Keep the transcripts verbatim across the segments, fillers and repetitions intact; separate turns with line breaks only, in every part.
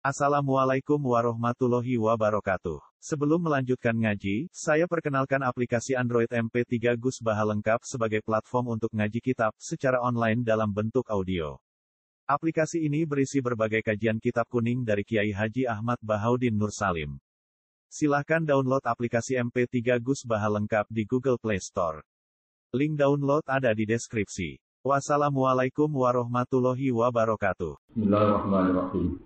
Assalamualaikum warahmatullahi wabarakatuh. Sebelum melanjutkan ngaji, saya perkenalkan aplikasi Android M P tiga Gus Baha lengkap sebagai platform untuk ngaji kitab secara online dalam bentuk audio. Aplikasi ini berisi berbagai kajian kitab kuning dari Kiai Haji Ahmad Bahaudin Nur Salim. Silahkan download aplikasi M P tiga Gus Baha lengkap di Google Play Store. Link download ada di deskripsi. Wassalamualaikum warahmatullahi wabarakatuh.
Bismillahirrahmanirrahim.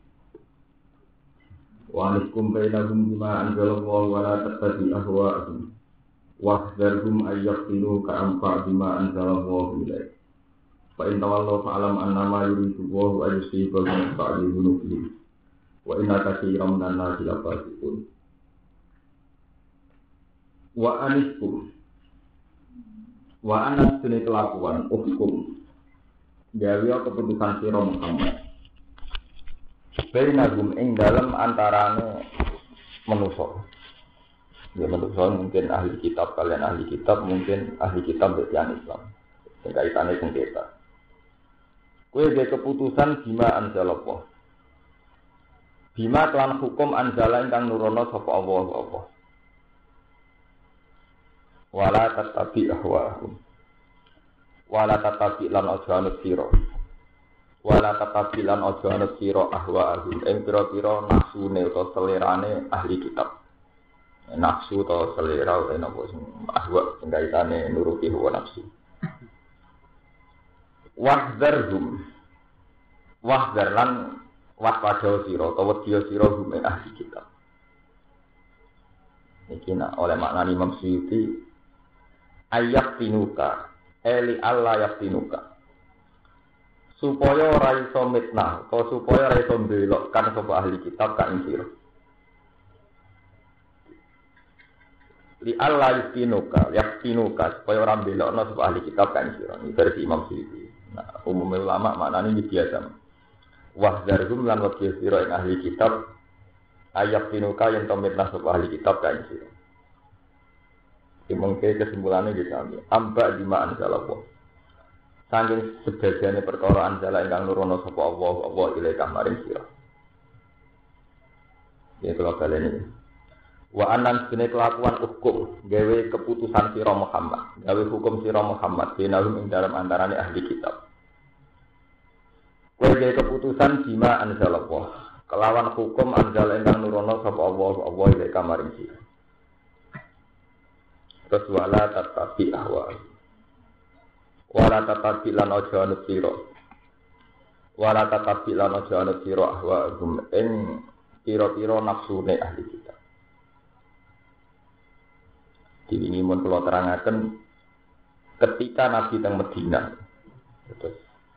Wa anikum bainahum bima anzalallahu wa la tattabi ahwa'ahum wahdharhum ayyaqtinu ka'amfa bima anzalallahu ilaik. Fa in tawallaw fa'lam annama yuridu Allahu an yusibahum ba'da dhunubihim wa inna katsiran minan nasi lafasiqun. Wa anikum wa anas dene kelakuan hukum gawe keputusan sira Muhammad bainagum ing dalem antarane manusa. Ya manusa mungkin ahli kitab, kalian ahli kitab, mungkin ahli kitab bertian Islam. Sing kaitane sengketa. Kowe ge keputusan bima anzalallah. Bima kelan hukum anzala ingkang nurono sapa Allah apa. Wala tatabi ahwahum. Wala tatabi lan aja anut sira. Wala tatabi lan aja anut sira ahwahum. Ing pira-pira nafsune utawa selerane ahli kitab. Nafsu utawa selera utawa napa sing ahwa sing kaitane nuruti hawa nafsu. Wahdharhum. Wahdhar lan waspada sira utawa wedya sira hum ahli kitab. Iki nak oleh makna Imam Suyuti ayat tinuka eli Allah ayat tinuka supaya ora iso mitnah atau supaya ora iso mbelokkan sapa ahli kitab ka ing sira li Allah yatinuka yatinuka supaya ora mbelokno sapa ahli kitab ka ing sira iki versi Imam Suyuti. Nah umum ulama maknane iki biasa wahdzarhum lan waqi sira ing ahli kitab ayat tinuka yen to mitnah sapa ahli kitab ka ing sira. Mungkin kesimpulannya gitu ambil ambak lima anzalallah saking sebagiannya perkara anzala ingkang nurono sapa Allah Allah ilaika maring sira. Ya kalau kalian ini wa anan sine kelakuan hukum gawe keputusan sira Muhammad gawe hukum sira Muhammad dinalum ing dalam antarane ahli kitab. Kowe gawe keputusan bima anzalallah kelawan hukum anzala ingkang nurono sapa Allah Allah ilaika maring sira. Terus wala tatabi ahwa wala tatabi lan aja anut sira wala tatabi lan aja anut sira ahwa gum ing pira-pira nafsune ahli kitab. Iki mun kula terangaken ketika Nabi teng Madinah. Terus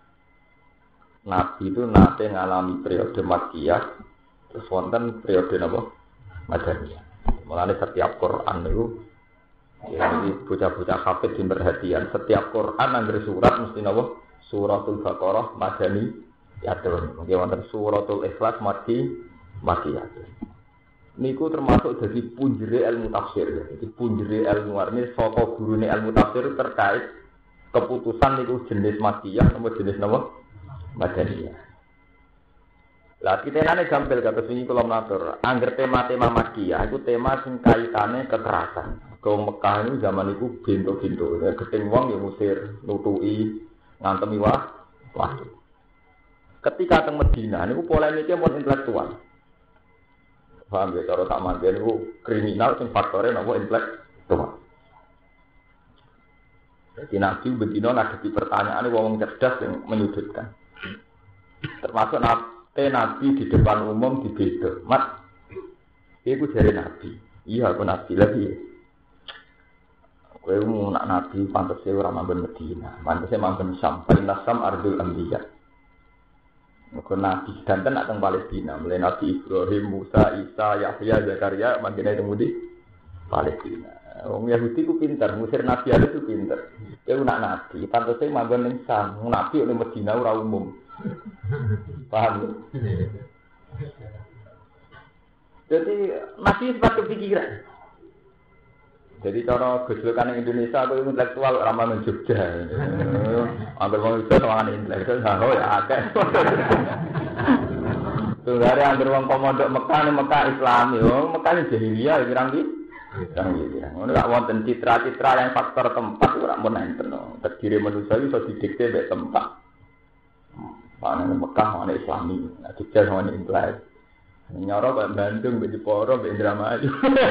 Nabi itu nate ngalami periode Makkiyah terus wonten periode napa Madaniyah. Mulane setiap Quran niku ya, jadi bocah-bocah hafid di perhatian setiap Quran anggere surat mesti napa suratul Baqarah madani yatun mungkin wonten suratul Ikhlas mati mati yatun niku termasuk jadi punjere ilmu tafsir ya. Jadi punjere ilmu warni saka gurune ilmu tafsir terkait keputusan niku jenis makiyah atau jenis napa madaniyah. Lah kitenane gampil kata sing kula matur angger tema-tema makiyah iku tema sing kaitane kekerasan. Kau Mekah ini zaman itu bintu-bintu, keting wong yang musir, nutui, ngantemi wah, wah. Ketika teng Madinah, ini polemiknya mau intelektual. Paham ya, cara tak mandian itu kriminal, sing faktornya nopo intelektual. Jadi Nabi bedino ngadepi pertanyaan wong cerdas yang menyudutkan. Termasuk nabi, nabi di depan umum di beda. Mat, itu dari Nabi. Iya, aku Nabi lagi. Kowe mau nak nabi pantese ora manggon Madinah, pantese manggon Syam, Palestina Syam ardul anbiya. Mengko nabi danten nak teng Palestina, mulai Nabi Ibrahim, Musa, Isa, Yahya, Zakaria manggene teng ndi? Palestina. Wong Yahudi ku pinter, musir nabi ada ku pinter. Kowe nak nabi pantese manggon ning Syam, nabi ning Madinah ora umum. Paham? Jadi masih sempat kepikiran. Jadi cara gejolkan Indonesia aku intelektual ramah Jogja. Ambil wong iso sowan intelektual oh ya akeh. Tunggare anggere wong komodok Mekah ning Mekah Islami, wong Mekah jahiliyah kirang iki. Kirang iki. Ngono gak wonten citra-citra yang faktor tempat ora mun enten. Terdiri manusia iso didikte mek tempat. Ana Mekah ana Islami, nek dicek ana Inggris. Nyoro kok Bandung mbek Jepara mbek Indramayu.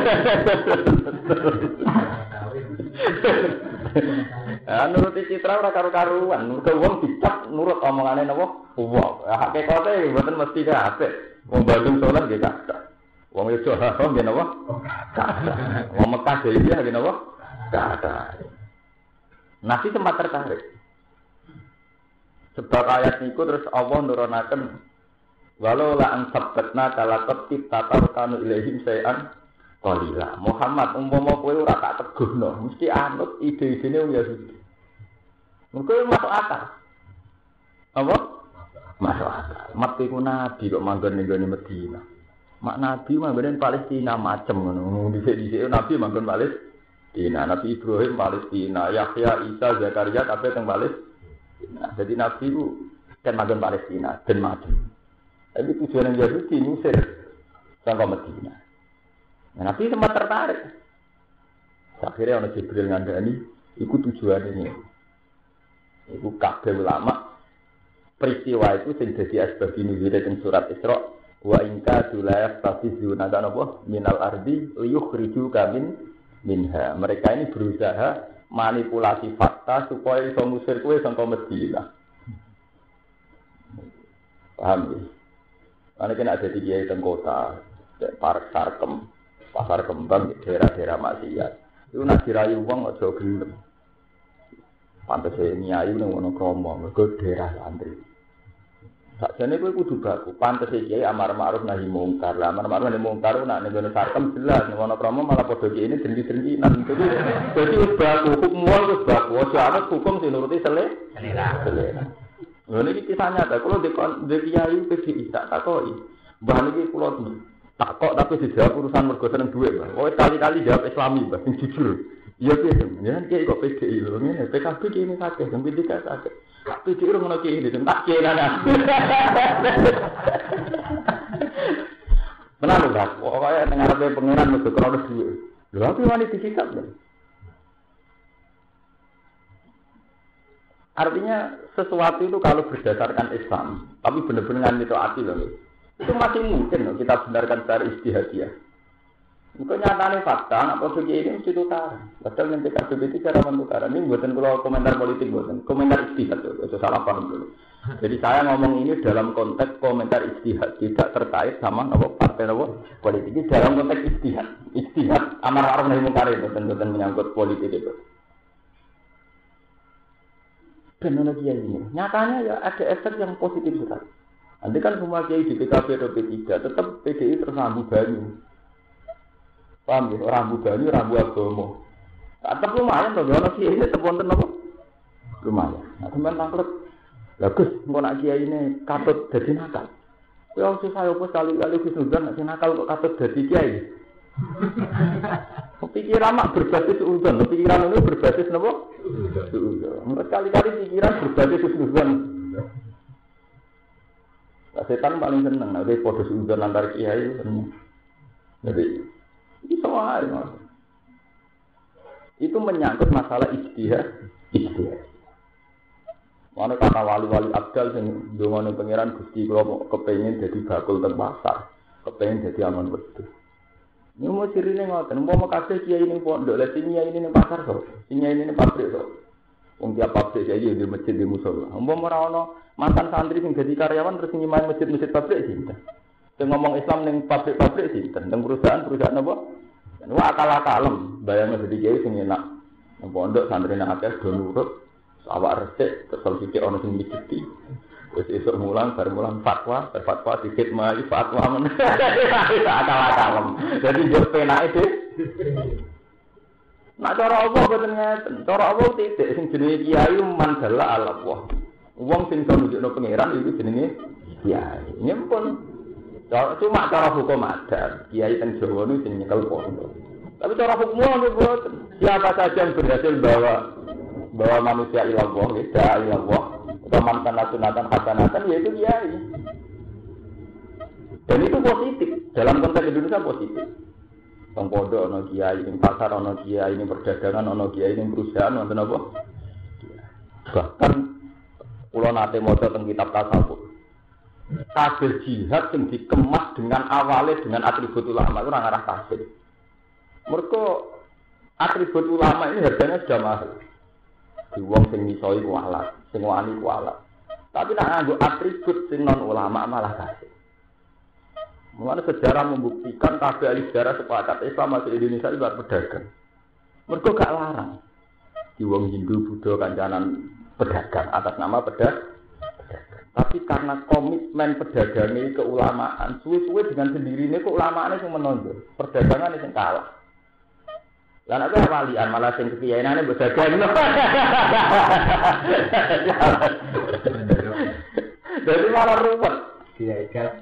Ah nurut citra ora karo-karuan, nurut wong dicap nurut omongane napa? Wong. Hakikate mboten mesti kabeh. Wong Bandung salat nggih kathah. Wong Yogyakarta nggih napa? Kathah. Wong Mekah dhewe nggih napa? Kathah. Nabi sempat tertarik. Sebab ayat niku terus Allah nurunaken walau la an sabbatna kalaqat tatarkanu ilaihim sayan qalila. Muhammad umpama kowe ora tak teguhno, mesti anut ide-idene wong Yahudi. Mengko masuk akal. Apa? Masuk akal. Mati ku nabi kok manggon ning gone Madinah. Mak nabi manggon Palestina macem ngono. Dhisik-dhisik nabi manggon Palestina. Nabi Ibrahim Palestina, Yahya, Isa, Zakaria kabeh teng Palestina. Nah, jadi Nabi itu kan magang Palestina dan macam. Tapi tujuan yang Yahudi Mesir sampai Medina. Nah, Nabi sempat tertarik. Akhirnya orang Jibril ngandani, itu tujuan ini. Itu kabeh ulama peristiwa itu sing dadi asbab nuzul teng surat Isra wa inka dulayaf tafizuna dan apa minal ardi liyukhriju kamin minha. Mereka ini berusaha manipulasi fakta supaya iso ngusir kowe saka Madinah. Paham ya? Ana kena ada kiai teng kota, park sarkem, pasar kembang, daerah-daerah maksiat. Iku nek dirayu wong aja gelem. Pantese nyai nang ngono kromo, mergo daerah santri. Sakjane kowe kudu baku, pantese kiai amar ma'ruf nahi mungkar. Lah amar ma'ruf nahi mungkar nek ngene sarkem jelas, nek ngono kromo malah padha kiai ini dengki-dengkinan. Jadi dadi wis baku, hukum wis baku, aja ana hukum sing nuruti selera. Selera. Lha niki kisah nyata, kula di kiai P D I tak takoki. Mbah niki kula takok tapi dijawab urusan mergo seneng dhuwit, Mbah. Kowe kali-kali jawab Islami, Mbah, sing jujur. Iya piye, ya kiai kok P D I lho ngene, P K B ki ini sakit, sing P D I sakit. Tapi dia orang nak kiri, tak kiri nana. Kenapa tak? Pokoknya dengar apa pengiran mesti kerana dua. Lalu apa yang disikap? Artinya sesuatu itu kalau berdasarkan Islam, tapi benar-benar itu hati loh. Itu masih mungkin loh kita benarkan secara istihadiyah. Bukan nyatanya fakta, nak posisi ini mesti tukar. Padahal nanti K B B itu cara mentukar. Ini buatan kalau komentar politik buatan, komentar istihad itu salah paham dulu. Jadi saya ngomong ini dalam konteks komentar istihad, tidak terkait sama apa partai apa politik. Ini dalam konteks istihad, istihad amar ma'ruf nahi munkar itu bukan menyangkut politik itu. Dan kiai ini, nyatanya ya ada efek yang positif sekali. Nanti kan semua kiai di P K B atau P tiga tetap P D I tersambung banyu. Paham ya? Rambu banyu, rambu agama. Tetap lumayan loh, kalau kiai ini tetap wonten apa? Lumayan. Nah, teman tangklet. Bagus, engko nak kiai ini katut dadi nakal. Kowe wong susah opo kali-kali Gus Nuzan nek nakal kok katut dadi kiai. Pikiran mak berbasis uzon, pikiran itu berbasis napa? Uzon. Kali-kali pikiran berbasis uzon. Nah, setan paling seneng nek padha uzon antar kiai. Jadi itu soal itu menyangkut masalah ijtihad, ijtihad. Mana kata wali-wali abdal sing ndongane pangeran Gusti kula kepengin dadi bakul teng pasar, kepengin dadi aman wedhus. Ini mau sirine ngoten, umpama kabeh kiai ning pondok, lha sing kiai ning pasar kok, sing kiai ning pabrik kok. Wong tiap pabrik kiai di masjid di musala. Umpama ora ana mantan santri sing dadi karyawan terus nyimpen masjid-masjid pabrik sinten. Sing ngomong Islam ning pabrik-pabrik sinten, ning perusahaan-perusahaan apa? Wah akal-akalem, bayangnya jadi kiai sing enak. Nang pondok santrine akeh do nurut, awak resik terus sithik ana sing miciti. Wis esuk mulang bar mulang fatwa, bar fatwa dikit mai fatwa men. Akal-akalem. Dadi yo penake dhewe. Nak cara apa boten ngeten. Cara apa titik sing jenenge kiai mandala Allah. Wong sing iso nunjukno pangeran iku jenenge kiai. Nyempun cuma cara hukum adat, kiai teng Jawa niku sing nyekel pondok. Tapi cara hukum niku siapa saja yang berhasil bawa bawa manusia ila Allah, ila Allah, atau mantan sunatan hasanatan yaitu kiai. Dan itu positif. Dalam konteks Indonesia positif. Teng pondok ana kiai, ning pasar ana kiai, ning perdagangan ana kiai, ning perusahaan wonten apa? Bahkan kula nate maca teng kitab tasawuf. Kabeh jihad sing dikemas dengan awalnya dengan atribut ulama itu ora ngarah kafir. Mergo atribut ulama ini harganya sudah mahal. Di wong sing misoi kualat, sing wani kualat. Tapi nek nganggo atribut sing non ulama malah kafir. Mulane sejarah membuktikan kabeh ahli sejarah sepakat Islam masuk Indonesia itu buat pedagang. Mergo gak larang. Di wong Hindu, Buddha kancanan pedagang atas nama pedagang. Tapi karena komitmen pedagangnya keulamaan, suwe-suwe dengan sendirinya keulamaannya yang menonjol, perdagangannya yang kalah. Lah nek walian malah sing kekiyainane berdagang. Jadi malah ruwet. Kiai gas.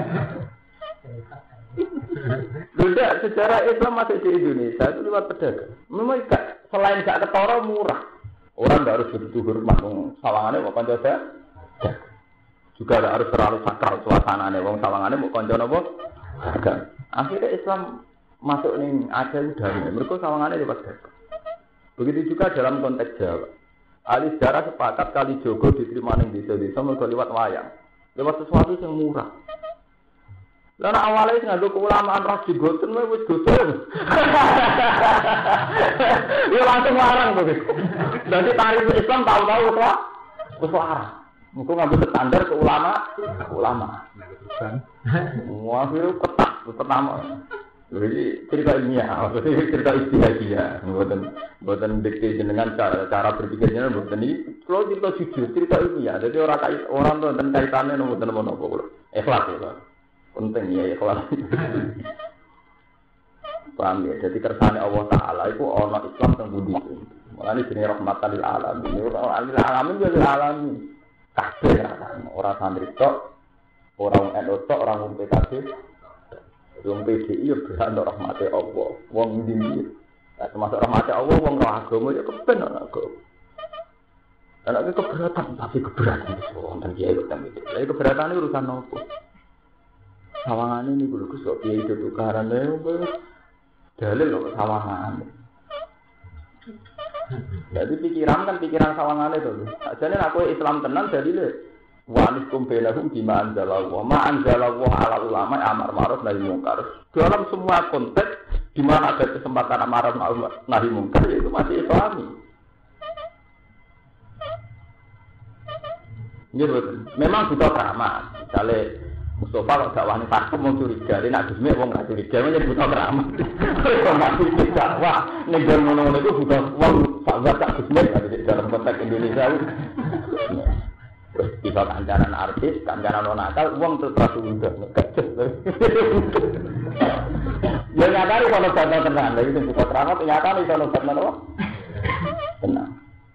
Tidak, sejarah Islam masuk di Indonesia itu lewat pedagang. Memang gak, selain gak ketara murah. Orang gak harus begitu hormat, sawangannya mau konco saya. Juga gak harus terlalu sakral suasananya, wong sawangannya mau konco apa? Dagang. Akhirnya Islam masuk nih Aceh udah nih, mereka sawangannya lewat dagang. Begitu juga dalam konteks Jawa. Ahli sejarah sepakat kali Jogo diterima ning desa-desa mergo lewat wayang. Lewat sesuatu yang murah. Lah nek awale nganggo keulamaan ras digoten wae wis gosong. Ya langsung larang to. Dadi tarif Islam tahu-tahu wis lah. Wis larang. Engko nganggo standar keulama, ulama. Wah, itu ketat pertama. Jadi cerita ilmiah, maksudnya cerita istihadiyah, bukan bukan dikte dengan cara cara berpikirnya bukan ini. Kalau cerita jujur, cerita ilmiah, jadi orang kait orang tuh dan kaitannya nomor nomor nomor ikhlas ya, penting ya ikhlas. Paham ya? Jadi kersane Allah Taala itu orang Islam yang budi. Mulanya jenis rahmatan lil alamin. Orang lil alamin jadi alamin. Kabeh orang santri tok, orang N U tok, orang P K B. Wong P D I yo berat nek rahmate Allah. Wong ndi-ndi. Nah, termasuk rahmate Allah wong roh agama ya kepen ana agama. Ana keberatan tapi keberatan wis wonten kiai kok tembe. Lah keberatan urusan nopo? Sawangane niku lho Gus kok kiai itu tukarane dalil kok sawangane. Jadi pikiran kan pikiran sawangane to. Sajane nek kowe Islam tenan jadi lho walikum bainahum bima anzalallah ma anzalallah ala ulama amar ma'ruf nahi munkar. Dalam semua konteks di mana ada kesempatan amar ma'ruf nahi munkar itu masih Islami. Ya betul. Memang butuh keramat. Misalnya Mustafa kalau gak wani pakem mau curiga, dia nak Gusmi wong gak curiga, memang butuh keramat. Kalau masih tidak, wah negara ngono-ngono itu butuh wong sahabat tak Gusmi dalam konteks Indonesia. Bisa kancanan artis, kancanan nakal, uang terus udah kecil. Ya nyata kalau dana tenang, lagi itu buka keramat, nyata nih kalau dana apa? Tenang.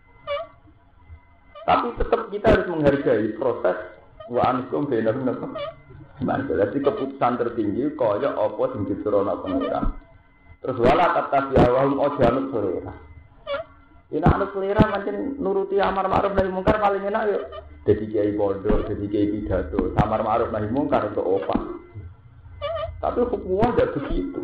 Tapi tetap kita harus menghargai proses wa ankum bainahum apa? Jadi keputusan tertinggi kaya apa sing disurono pengiran. Terus wala kata siawahum ojanut selera. Ini anak selera macam nuruti amar ma'ruf nahi mungkar paling enak yuk. Jadi kiai pondok, jadi kiai pidato, amar ma'ruf nahi mungkar untuk opah. Tapi hukumnya tidak begitu.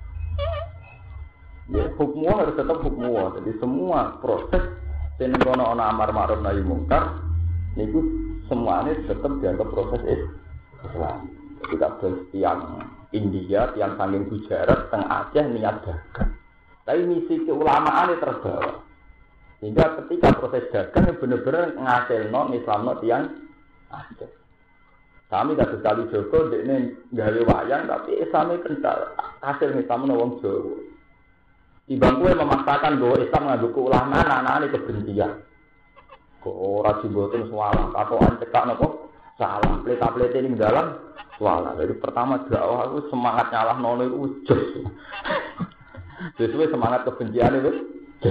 Ya, hukumnya harus tetap hukumnya. Jadi semua proses yang kono ana amar ma'ruf nahi mungkar, niku semuanya tetap dianggap proses Islam. Jadi kabeh tiang India, tiang saking Gujarat, teng Aceh niat dagang. Tapi misi keulamaan itu terbawa. Sehingga ketika proses dagang benar-benar ngasilno Islamno tiang Aceh. Kami tidak sekali Joko, ini gawe wayang, tapi Islamnya kental. Hasil Islamno wong Jawa. Ibang kue memaksakan bahwa Islam ngadu keulamaan, anak-anak kebencian. Kok ora jemboten salah, katokan cekak nopo salah, pleta-plete ning dalam salah. Jadi pertama dakwah aku semangat nyalah nono iku jos. Sesuai semangat kebencian itu.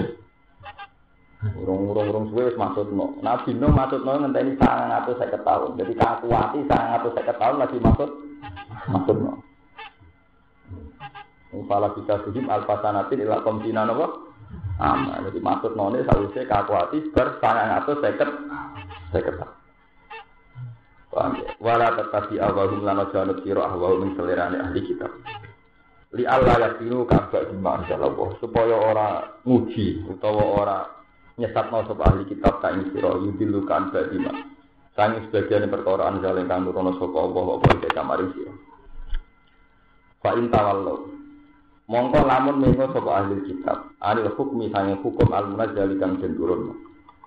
Urung-urung suwe wis maksudno. Nabi Nuh maksudno ngenteni sangang atus seket tahun. Jadi kakuati sangang atus seket tahun lagi maksud maksudno. Fala bisa sujud alfasanatin ila komtina napa? Ama. Jadi maksudno ne sawise kakuati ber sangang atus seket seket. Wala tatabi awahum lana janut siro ahwahum yang selerane ahli kitab. Li Allah yakinu kabak bima anzalallah supaya orang nguji utawa orang nyesatno sapa ahli kitab ka ing sira yudilu kan bima. Sangi sebagian perkara anzal kang nurono sapa Allah apa iki kamaring sira. Fa in tawallu mongko lamun mengo sapa ahli kitab anil hukmi sange hukum al-munazzal kang den turun.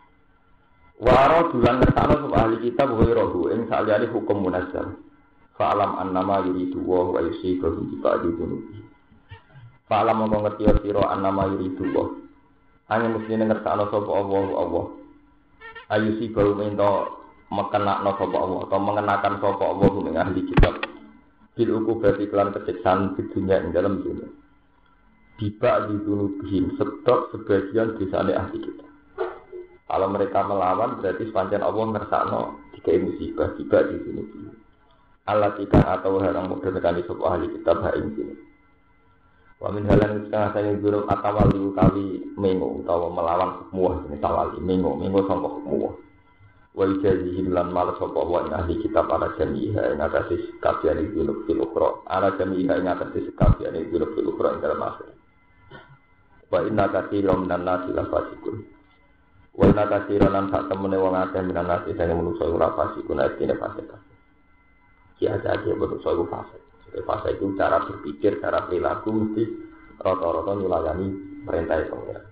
Waro dulan ngertano sapa ahli kitab wa rohu ing saliyane hukum munazzal. Fa alam annama yuridu wa yusibu bi ba'di dunubi. Fa alam mongko ngerti sira annama yuridu wa. Hanya mesti ngertano sapa Allah Allah. Ayu sibu mento mekenakno sapa Allah atau mengenakan sapa Allah ing ahli kitab. Bil ukubati kelan kesiksan di dunia ing dalam dunia. Tiba di dunubihim setok sebagian desane ahli kitab. Kalau mereka melawan berarti sepanjang Allah ngersakno dikai musibah tiba di sini. Allah tikang atau harang modern kali sop ahli kitab ha ing sini. Wa min halan setengah saya guru atawali kali mengo utawa melawan hukmuh ini tawali mengo mengo sangka hukmuh. Wa ijazihim lan mal sop wa ahli kitab ala jamiha ing atase kafian iki lho fil ukhra ala jamiha ing atase kafian iki lho fil ukhra ing dalam akhir. Wa inna katsiran minan nasi la fasikun. Wala kasiran sak temene wong akeh minan nasi sing menungso ora fasik kuna dene fasik. Ki aja iki menungso iku fasik. Fasik itu cara berpikir, cara perilaku mesti rata-rata nyulayani perintah pengiran.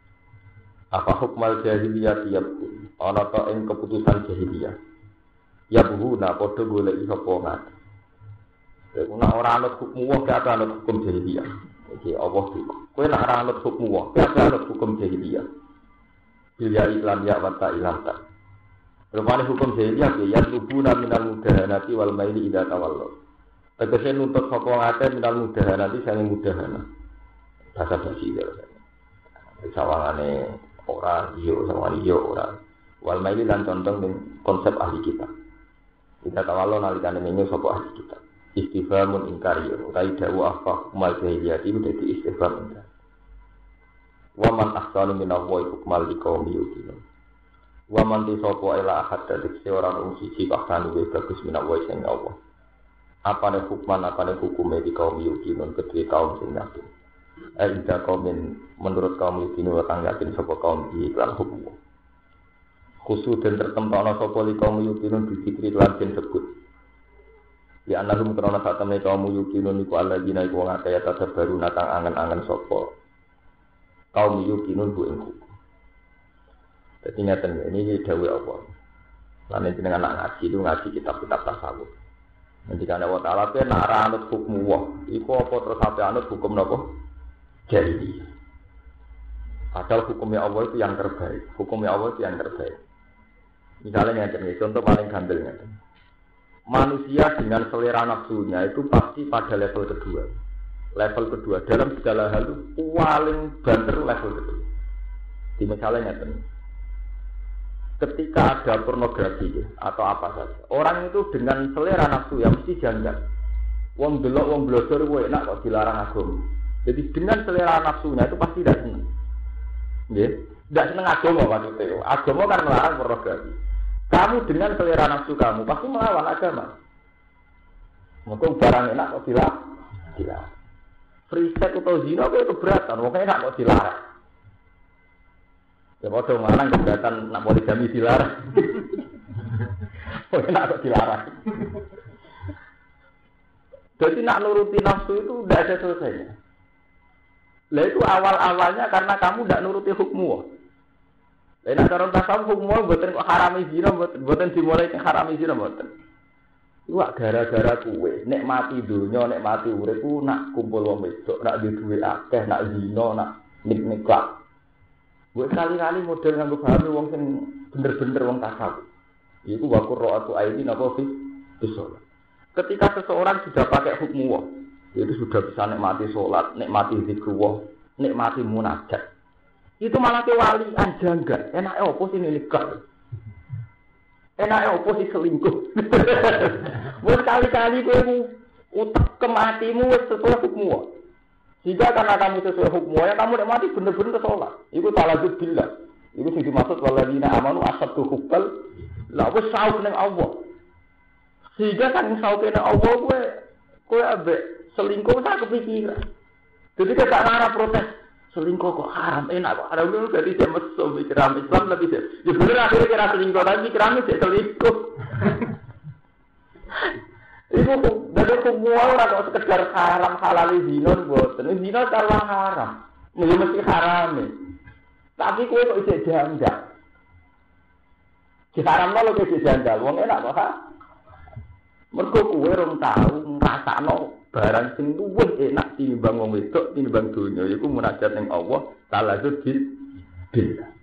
Apa hukmal jahiliyah tiap ana ta ing keputusan jahiliyah. Ya buhuna padha golek sapa ngat. Iku nek ora ana hukum wae gak ana hukum jahiliyah. Iki Allah iku. Kowe nek ora ana hukum wae gak ana hukum jahiliyah. Bila iklan ya wata ilanta. Rupane hukum jahiliyah ya lubuna minal mudahanati wal maili ida tawallu. Tegese nuntut sapa ngate minal mudahanati sange mudahana. Bahasa basi ya. Sawangane ora yo sawangane yo ora. Wal maili lan condong ning konsep ahli kita. Ida tawallu nalikane menyo sapa ahli kita. Istifhamun inkari utawi dawu afa mal jahiliyah iki dadi istifham ingkar. Wa man ahsanu min Allahi hukmal liqaumi yuqinun. Wa man tisapa ila ahad dadi ora wong siji pakane wis bagus min Allahi sing Allah. Apane hukman apane hukume di kaum yuqinun kedue kaum sing yakin. Eh ida kaumin menurut kaum yuqinun kang yakin sapa kaum iki lan hukum. Khusus dan tertempana sapa li kaum yuqinun dikiri lan den sebut. Ya annahum karena sak temne kaum yuqinun iku alladzina iku wong akeh tadabaru natang angen-angen sapa kaum yukinun bu ing hukum. Dadi ngaten ini dawuh Allah. Lan nek jenengan anak ngaji itu ngaji kitab-kitab tasawuf. Nanti kan Allah Taala pe nek ora anut hukum wa, iku apa terus sampe anut hukum napa? Jahiliyah. Padahal hukumnya Allah itu yang terbaik. Hukumnya Allah itu yang terbaik. Misalnya ngaten iki contoh paling gampang ngaten. Manusia dengan selera nafsunya itu pasti pada level kedua. Level kedua dalam segala hal itu paling banter level kedua. Di misalnya nyata, ketika ada pornografi atau apa saja, orang itu dengan selera nafsu yang mesti janggal. Wong delok wong blodor kowe enak kok dilarang agama. Jadi dengan selera nafsunya itu pasti tidak senang. Nggih, tidak senang agama maksudnya. Agama kan melarang pornografi. Kamu dengan selera nafsu kamu pasti melawan agama. Mungkin barang enak kok dilarang. Dilarang. Free sex atau zina itu keberatan, makanya nak mau dilarang. Ya bodoh mana keberatan nak poligami dilarang. Makanya nak kok dilarang. Jadi nak nuruti nafsu itu tidak ada selesainya. Lah itu awal-awalnya karena kamu tidak nuruti hukmu. Lah nak cara tasawuf hukmu mboten kok harami zina, mboten dimulai ke harami zina mboten. Iwak gara-gara kuwe, nek mati dunya, nek mati urip ku nak kumpul wong wedok, nak duwe akeh, nak zina, nak nik-nikah. Gue kali-kali model nganggo pahami wong sing bener-bener wong tasawuf. Iku wa qurra'atu aini napa fi sholat. Ketika seseorang sudah pakai hukmu, itu sudah bisa nikmati sholat, nikmati zikrullah, nikmati munajat. Itu malah ke walian janggal. Enake opo sing nikah? Enaknya opo sih selingkuh. Buat kali-kali kowe utak kematimu sesuai hukmu. Jika karena kamu sesuai hukmu, ya kamu nek mati bener-bener sholat. Iku taladzub billah. Iku sing dimaksud waladina amanu asaddu hubbal. Lah wis sauk ning Allah. Sehingga kan saukene Allah kowe kowe ambek selingkuh sak kepikiran. Jadi kita ngarah protes selingkuh kok haram enak kok haram itu berarti dia mesum pikiran Islam lebih dia. Ya bener akhirnya kira selingkuh tapi pikirannya dia selingkuh. Itu dari semua orang kok sekedar haram halal zina mboten. Zina karena haram. Mesti mesti haram. Tapi kowe kok isih janggal. Diharamno lho kok isih janggal. Wong enak kok ha. Mergo kowe rong tau ngrasakno barang sing luwih enak tinimbang wong wedok tinimbang donya iku munajat ning Allah taala bil billah.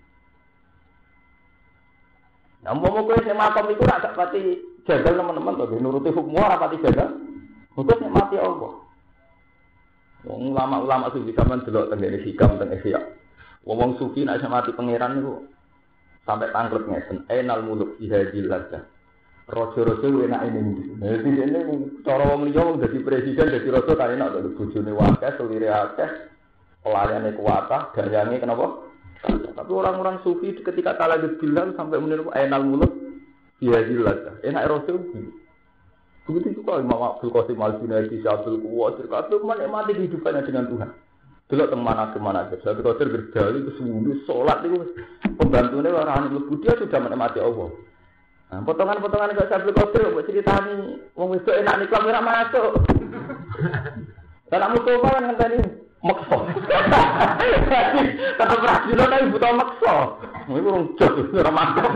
Nah, umpama kowe sing makom iku ora sak pati jagal teman-teman to nuruti hukum ora pati jagal. Kok nek mati Allah. Wong ulama-ulama sufi sampean delok teng ngene hikam teng Ihya. Wong sufi nek mati pangeran niku sampai tangkrut ngesen enal muluk ihadil ladah. Raja-raja enak ini. Jadi ini cara wong liya wong dadi presiden dadi raja kan enak to bojone akeh, selire akeh, pelariane kuwatah, gayange kenapa? Tapi orang-orang sufi ketika kalah bilang sampai meniru enal muluk ya jelas. Enak raja. Begitu juga Imam Abdul Qasim Al-Junaidi, Syabdul Quwwat, kabeh menikmati kehidupannya dengan Tuhan. Delok teng mana kemana aja. Syabdul Qadir berdali ke sembuh salat niku pembantune orang anu dia sudah menikmati Allah. Nah, potongan-potongan kok Syabdul Qadir mbok critani wong wedok enak nek ora masuk. Lah Mustafa kan ngenteni maksa. Tetep rajin tapi butuh maksa. Iku urung jos ora mantap.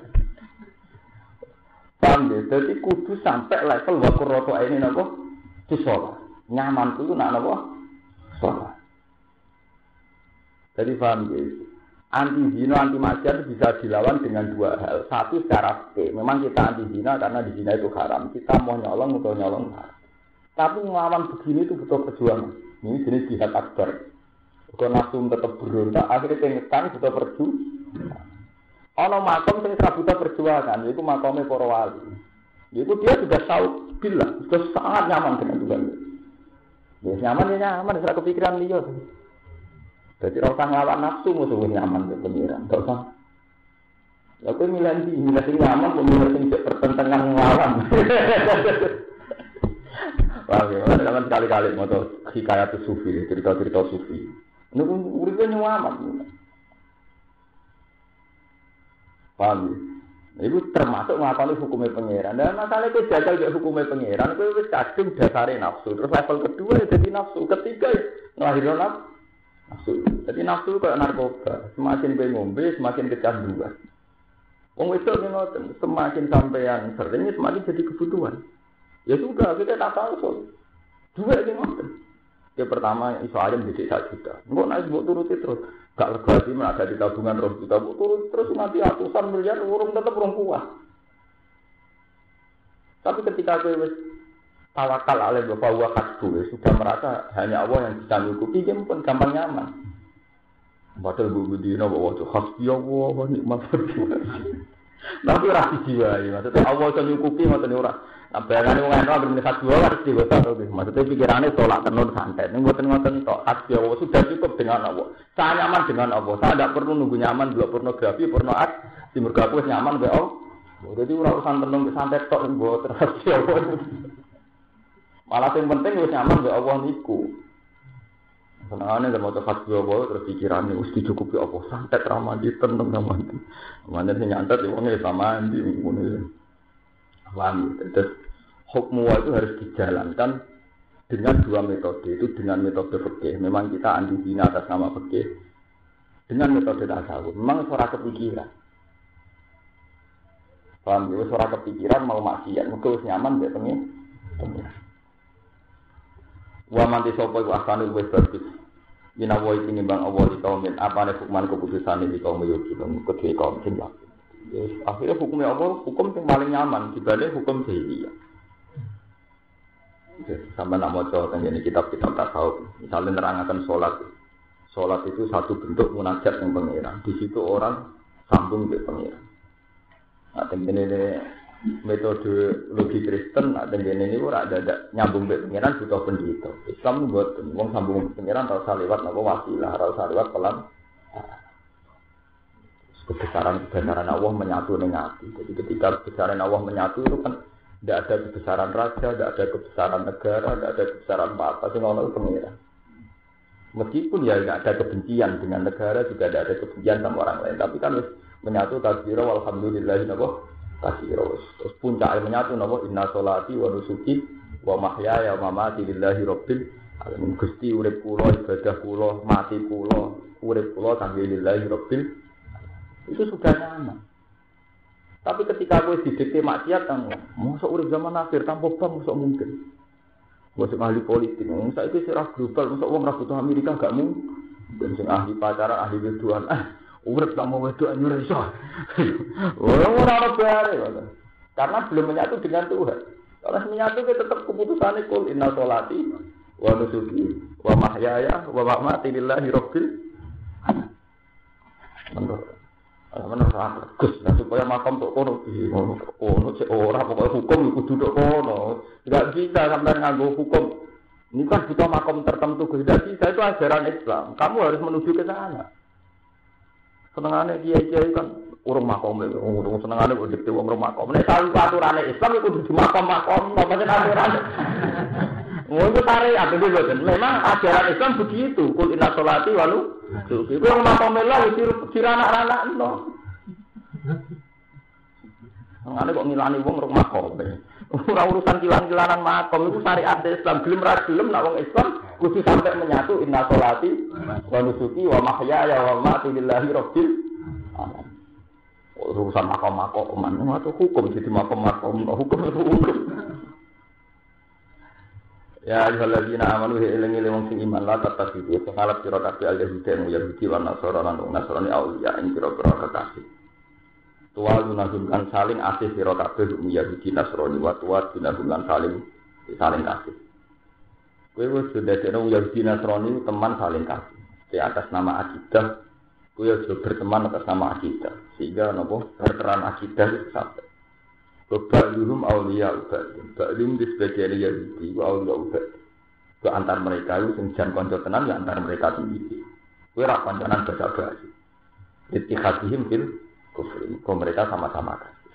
Paham ya? Jadi kudu sampai level wakur roto ini napa? Sholat. Nyaman itu nak napa? Sholat. Jadi paham ya? Anti zina, anti maksiat bisa dilawan dengan dua hal. Satu secara fikih. Memang kita anti zina karena di zina itu haram. Kita mau nyolong atau nyolong haram. Tapi melawan begini itu butuh perjuangan. Ini jenis jihad akbar. Kalau nafsu tetap berontak, akhirnya pengetan butuh perjuangan. Ono makom sing buta perjuangan, yaitu makomnya para wali. Yaitu dia sudah tahu bila, sudah sangat nyaman dengan Tuhan. Ya nyaman ya nyaman, tidak kepikiran dia. Jadi orang usah ngelawan nafsu musuh nyaman ke pengiran, tak usah. Lalu milih di, milih sing nyaman, milih sing pertentangan ngelawan. Wah, ya, jangan sekali-kali mau hikayat sufi, cerita-cerita sufi. Ini uripnya nyaman. Paham ya? Itu termasuk ngakoni hukumnya pangeran. Dan masalah itu jagal juga hukumnya pangeran. Itu wis kadung dasare nafsu. Terus level kedua ya jadi nafsu. Ketiga ya ngelahirin nafsu. Jadi nafsu kayak narkoba. Semakin kowe ngombe, semakin kecanduan. Wong itu ngoten, semakin sampean sering semakin jadi kebutuhan. Ya sudah, kita tak tahu. Dua iki ngoten. Ya pertama iso ayam didik sak juta. Engko nek mbok turuti terus gak lega iki men ada di tabungan rong juta mbok turut terus nanti ratusan miliar urung tetep rong kuat. Tapi ketika kowe wis tawakal alai bapak wa kasbu sudah merasa hanya Allah yang bisa nyukupi dia pun gampang nyaman. Padahal bu dina bawa tuh hasbi Allah wa nikmat wakil. Tapi ora dijiwai maksudnya Allah bisa nyukupi ngoten ora. Nah, bayangane wong ana ben khas dua harus diwota to. Maksudnya pikirannya tolak tenun santet. Ning mboten-mboten tok khas Allah sudah cukup dengan Allah. Saya nyaman dengan Allah. Saya tidak perlu nunggu nyaman dua pornografi, porno art. Di mergo aku wis nyaman wae Allah. Jadi ora usah tenun santet tok mboten khas Allah. Malah yang penting wis nyaman wae Allah niku. Senengane lek maca khas Allah terus pikirannya wis dicukupi Allah. Santet ra mandi tenun ra mandi. Mane sing nyantet wong wis mandi ngono. Paham? Terus hukum itu harus dijalankan dengan dua metode. Itu dengan metode fikih. Memang kita anti zina atas nama fikih. Dengan metode tasawuf. Memang suara kepikiran. Paham? Jadi suara kepikiran mau maksiat. Mungkin harus nyaman dia pengen. Wa manti sopo iku asane wis bagus. Yen awoi tinimbang awoi kaumin apane hukuman keputusan iki kaum yo kedhe kaum sing yakin. Yes, akhirnya hukumnya Allah, hukum yang paling nyaman dibanding hukum jahiliyah. Yes, sampai nak mau coba tentang kitab-kitab tasawuf, misalnya nerangkan sholat. Sholat itu satu bentuk munajat yang pengiran. Di situ orang sambung ke pengiran. Nah, tentang ini metode logi Kristen, nah tentang ini orang ada nyambung ke pengiran butuh pendeta. Islam buat orang sambung ke pengiran harus lewat apa wasilah, harus lewat pelan. Kebesaran-kebesaran Allah menyatu dengan hati. Jadi ketika kebesaran Allah menyatu itu kan Tidak ada kebesaran raja, tidak ada kebesaran negara, tidak ada kebesaran apa-apa. Sehingga Allah pengira. Meskipun ya tidak ada kebencian dengan negara, juga tidak ada kebencian sama orang lain. Tapi kan menyatu takbira walhamdulillahi katsira. Terus puncaknya menyatu napa inna sholati wa nusuki wa mahyaya wa mamati lillahi rabbil alamin. Gusti urip kula, ibadah kula, mati kula, urip kula kangge lillahi rabbil alamin. Itu sudah nyaman. Tapi ketika kowe didikte maksiat kan, mosok urip zaman akhir tanpa bang mosok mungkin. Mosok ahli politik, wong saiki sira global, mosok wong ra butuh Amerika gak mungkin. Sing ahli pacaran, ahli wedoan, ah urip tak mau wedoan yo iso. Ora ora ana bare. Karena belum menyatu dengan Tuhan. Kalau menyatu kita tetap keputusannya kul inna sholati wa nusuki wa mahyaya wa mamati lillahi rabbil alamin. Menurut menurut Gus, nah supaya makam tok kono kono cek ora pokoke hukum iku duduk kono. Enggak bisa sampean nganggo hukum. Ini kan butuh makam tertentu Gus. Tidak bisa, itu ajaran Islam. Kamu harus menuju ke sana. Senengane kiai-kiai kan urung makom, urung senengane kok dikte wong urung makom. Nek salu aturane Islam iku kudu makom-makom, apa nek aturan. Oh, itu syariat itu betul. Memang ajaran Islam begitu. Kul inna sholati wa nusuki. Itu yang makom lah itu diranak-ranak no. Ngene kok ngilani wong urung makom. Ora urusan kilan-kilanan makom itu syariat Islam. Gelem ra gelem nek wong Islam kudu sampai menyatu inna sholati wa nusuki wa mahyaya wa mamati lillahi rabbil alamin. Urusan makom-makom itu hukum jadi makom-makom hukum itu hukum. Ya ayyuhalladzina amanu eling-eling wong sing iman la tatasidu salat sira kabeh al-yahudi wa yahudi lan nasara lan nasrani auliya ing pira-pira kekasih. Tuwalu nazumkan saling asih sira kabeh yahudi nasrani wa tuwat binahum saling saling kasih. Kowe wis dadekno yahudi nasrani teman saling kasih. Di atas nama akidah kowe aja berteman atas nama akidah. Sehingga napa berperan akidah itu sampai Ba'luhum awliya ubadin. Ba'luhum di sebagian Yahudi wa awliya ubadin. Ke antar mereka itu senjan konco tenan ya antar mereka sendiri. Kue rak konconan bahasa-bahasa. Ittihadihim fil kufri. Kau mereka sama-sama kasih.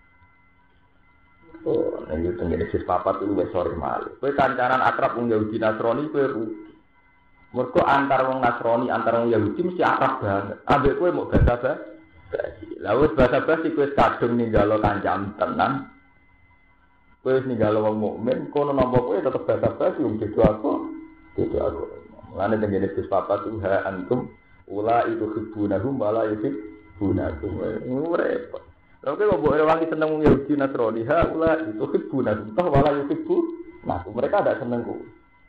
Oh, ini Genesis papat itu besar malu. Kue kancanan akrab wong Yahudi Nasrani kue rugi. Mergo antar wong Nasrani antar wong Yahudi mesti akrab banget. Ambek kue mau bahasa-bahasa. Lalu bahasa-bahasa kowe kadung ninggalo kancam tenan. Kowe ninggalo wong mukmin, kono nampa kowe tetep bahasa-bahasa wong beda aku. Beda aku. Mulane teng Genesis papat tuha antum ula itu hibunahum wala yuhibunakum. Ora repot. Lha kowe mbok wangi seneng wong Yahudi Nasrani, ha ula itu hibunahum toh wala yuhibbu. Nah, mereka ada seneng kowe.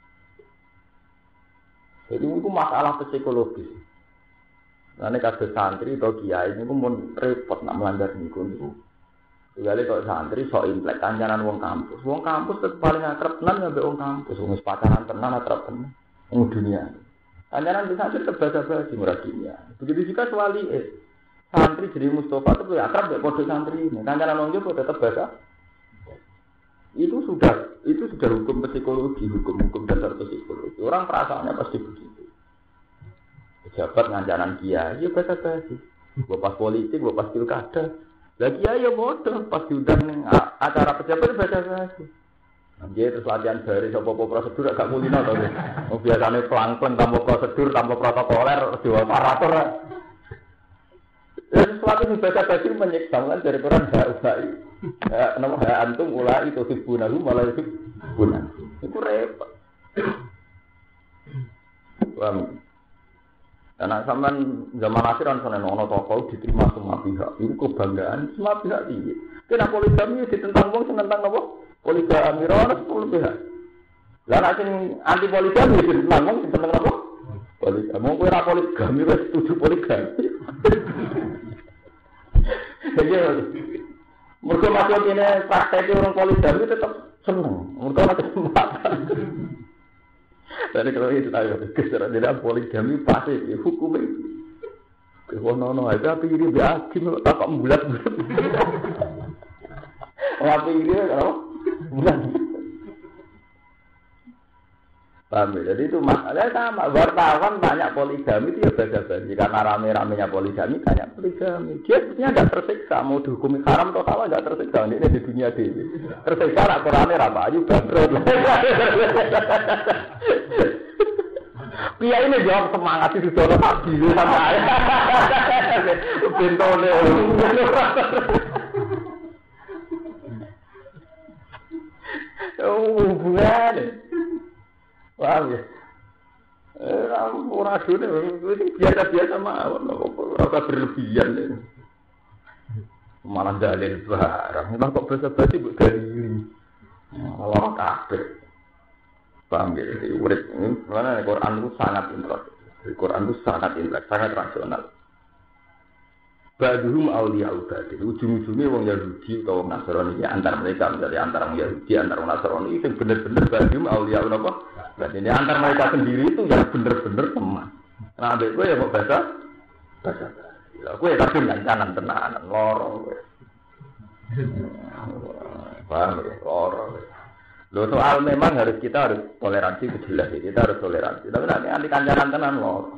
Jadi itu masalah psikologis. Karena kasus santri atau kiai ini pun repot nak melanggar niku niku. Jadi kalau santri sok implek kancanan wong kampus, wong kampus tetep paling akrab tenan ambek wong kampus, wong pacaran tenan akrab tenan wong dunia. Kancanan di santri tetep bahasa-bahasa murah dunia. Begitu juga sewali eh. Santri jadi Mustafa itu akrab ambek kode santri ini. Kancanan wong jowo tetep bahasa. Itu sudah itu sudah hukum psikologi, hukum-hukum dasar psikologi. Orang perasaannya pasti begitu. Pejabat ngancanan kiai, ya bahasa-bahasa. Bapak politik, bapak pilkada. Lah kiai ya bodoh, pas diundang ning acara pejabat bahasa-bahasa. Nggih terus latihan baris apa-apa prosedur agak mulino to. Oh biasane pelang-pelang tanpa prosedur, tanpa protokoler, dewa operator. Ya sesuatu yang bahasa-bahasa menyiksa kan dari Quran hak ulai. Ya nama hak antum ulai itu hibunahu malah hibunan. Itu repot. Paham? Karena sampean zaman akhir kan sono ono tokoh diterima semua pihak. Itu kebanggaan semua pihak tinggi. Kena poligami ditentang wong sing tentang napa? Poligami ora sepuluh pihak. Lah nek sing anti poligami ditentang wong sing tentang napa? Poligami. Wong kowe ora poligami wis setuju poligami. Jadi mergo masuk ini praktek orang poligami tetap seneng. Mergo ora kesempatan. Dari kalau itu tahu, keserak tidak poligami pasti hukumnya. Kalau nono ada apa ini biakin tak bulat bulat. Apa ini kalau bulat. Paham ya? Jadi itu masalahnya sama. Wartawan banyak poligami itu ya basa-basi. Karena rame-ramenya poligami banyak poligami. Dia sebenarnya nggak tersiksa. Mau dihukumi haram atau salah nggak tersiksa. Ini di dunia ini. Tersiksa lah Qurannya apa aja bangkrut. Pia ini jawab semangat itu sudah pasti sama saya. Bentole. Oh hubungan. Paham ya? Eh, orang dunia itu biasa-biasa mawon, apa berlebihan. Malah dalil barang. Memang kok basa-basi buat dalil. Allah kabeh. Paham ya? Jadi urip ini, karena Quran itu sangat intelek. Quran itu sangat intelek, sangat rasional. Ba'duhum awliya'u ba'dih. Ujung-ujungnya orang Yahudi atau orang Nasrani ya, antara mereka menjadi antara orang Yahudi, antara orang Nasrani itu benar-benar ba'duhum awliya'u apa? Dan ini antara mereka sendiri itu yang benar-benar teman. Nah, adik gue ya mau baca, baca. Gue ya kadang kancanan tenanan, lorong gue. Paham ya, lorong. Loh soal memang harus kita harus toleransi jelas ya, kita harus toleransi. Tapi nanti anti kancanan tenan lorong.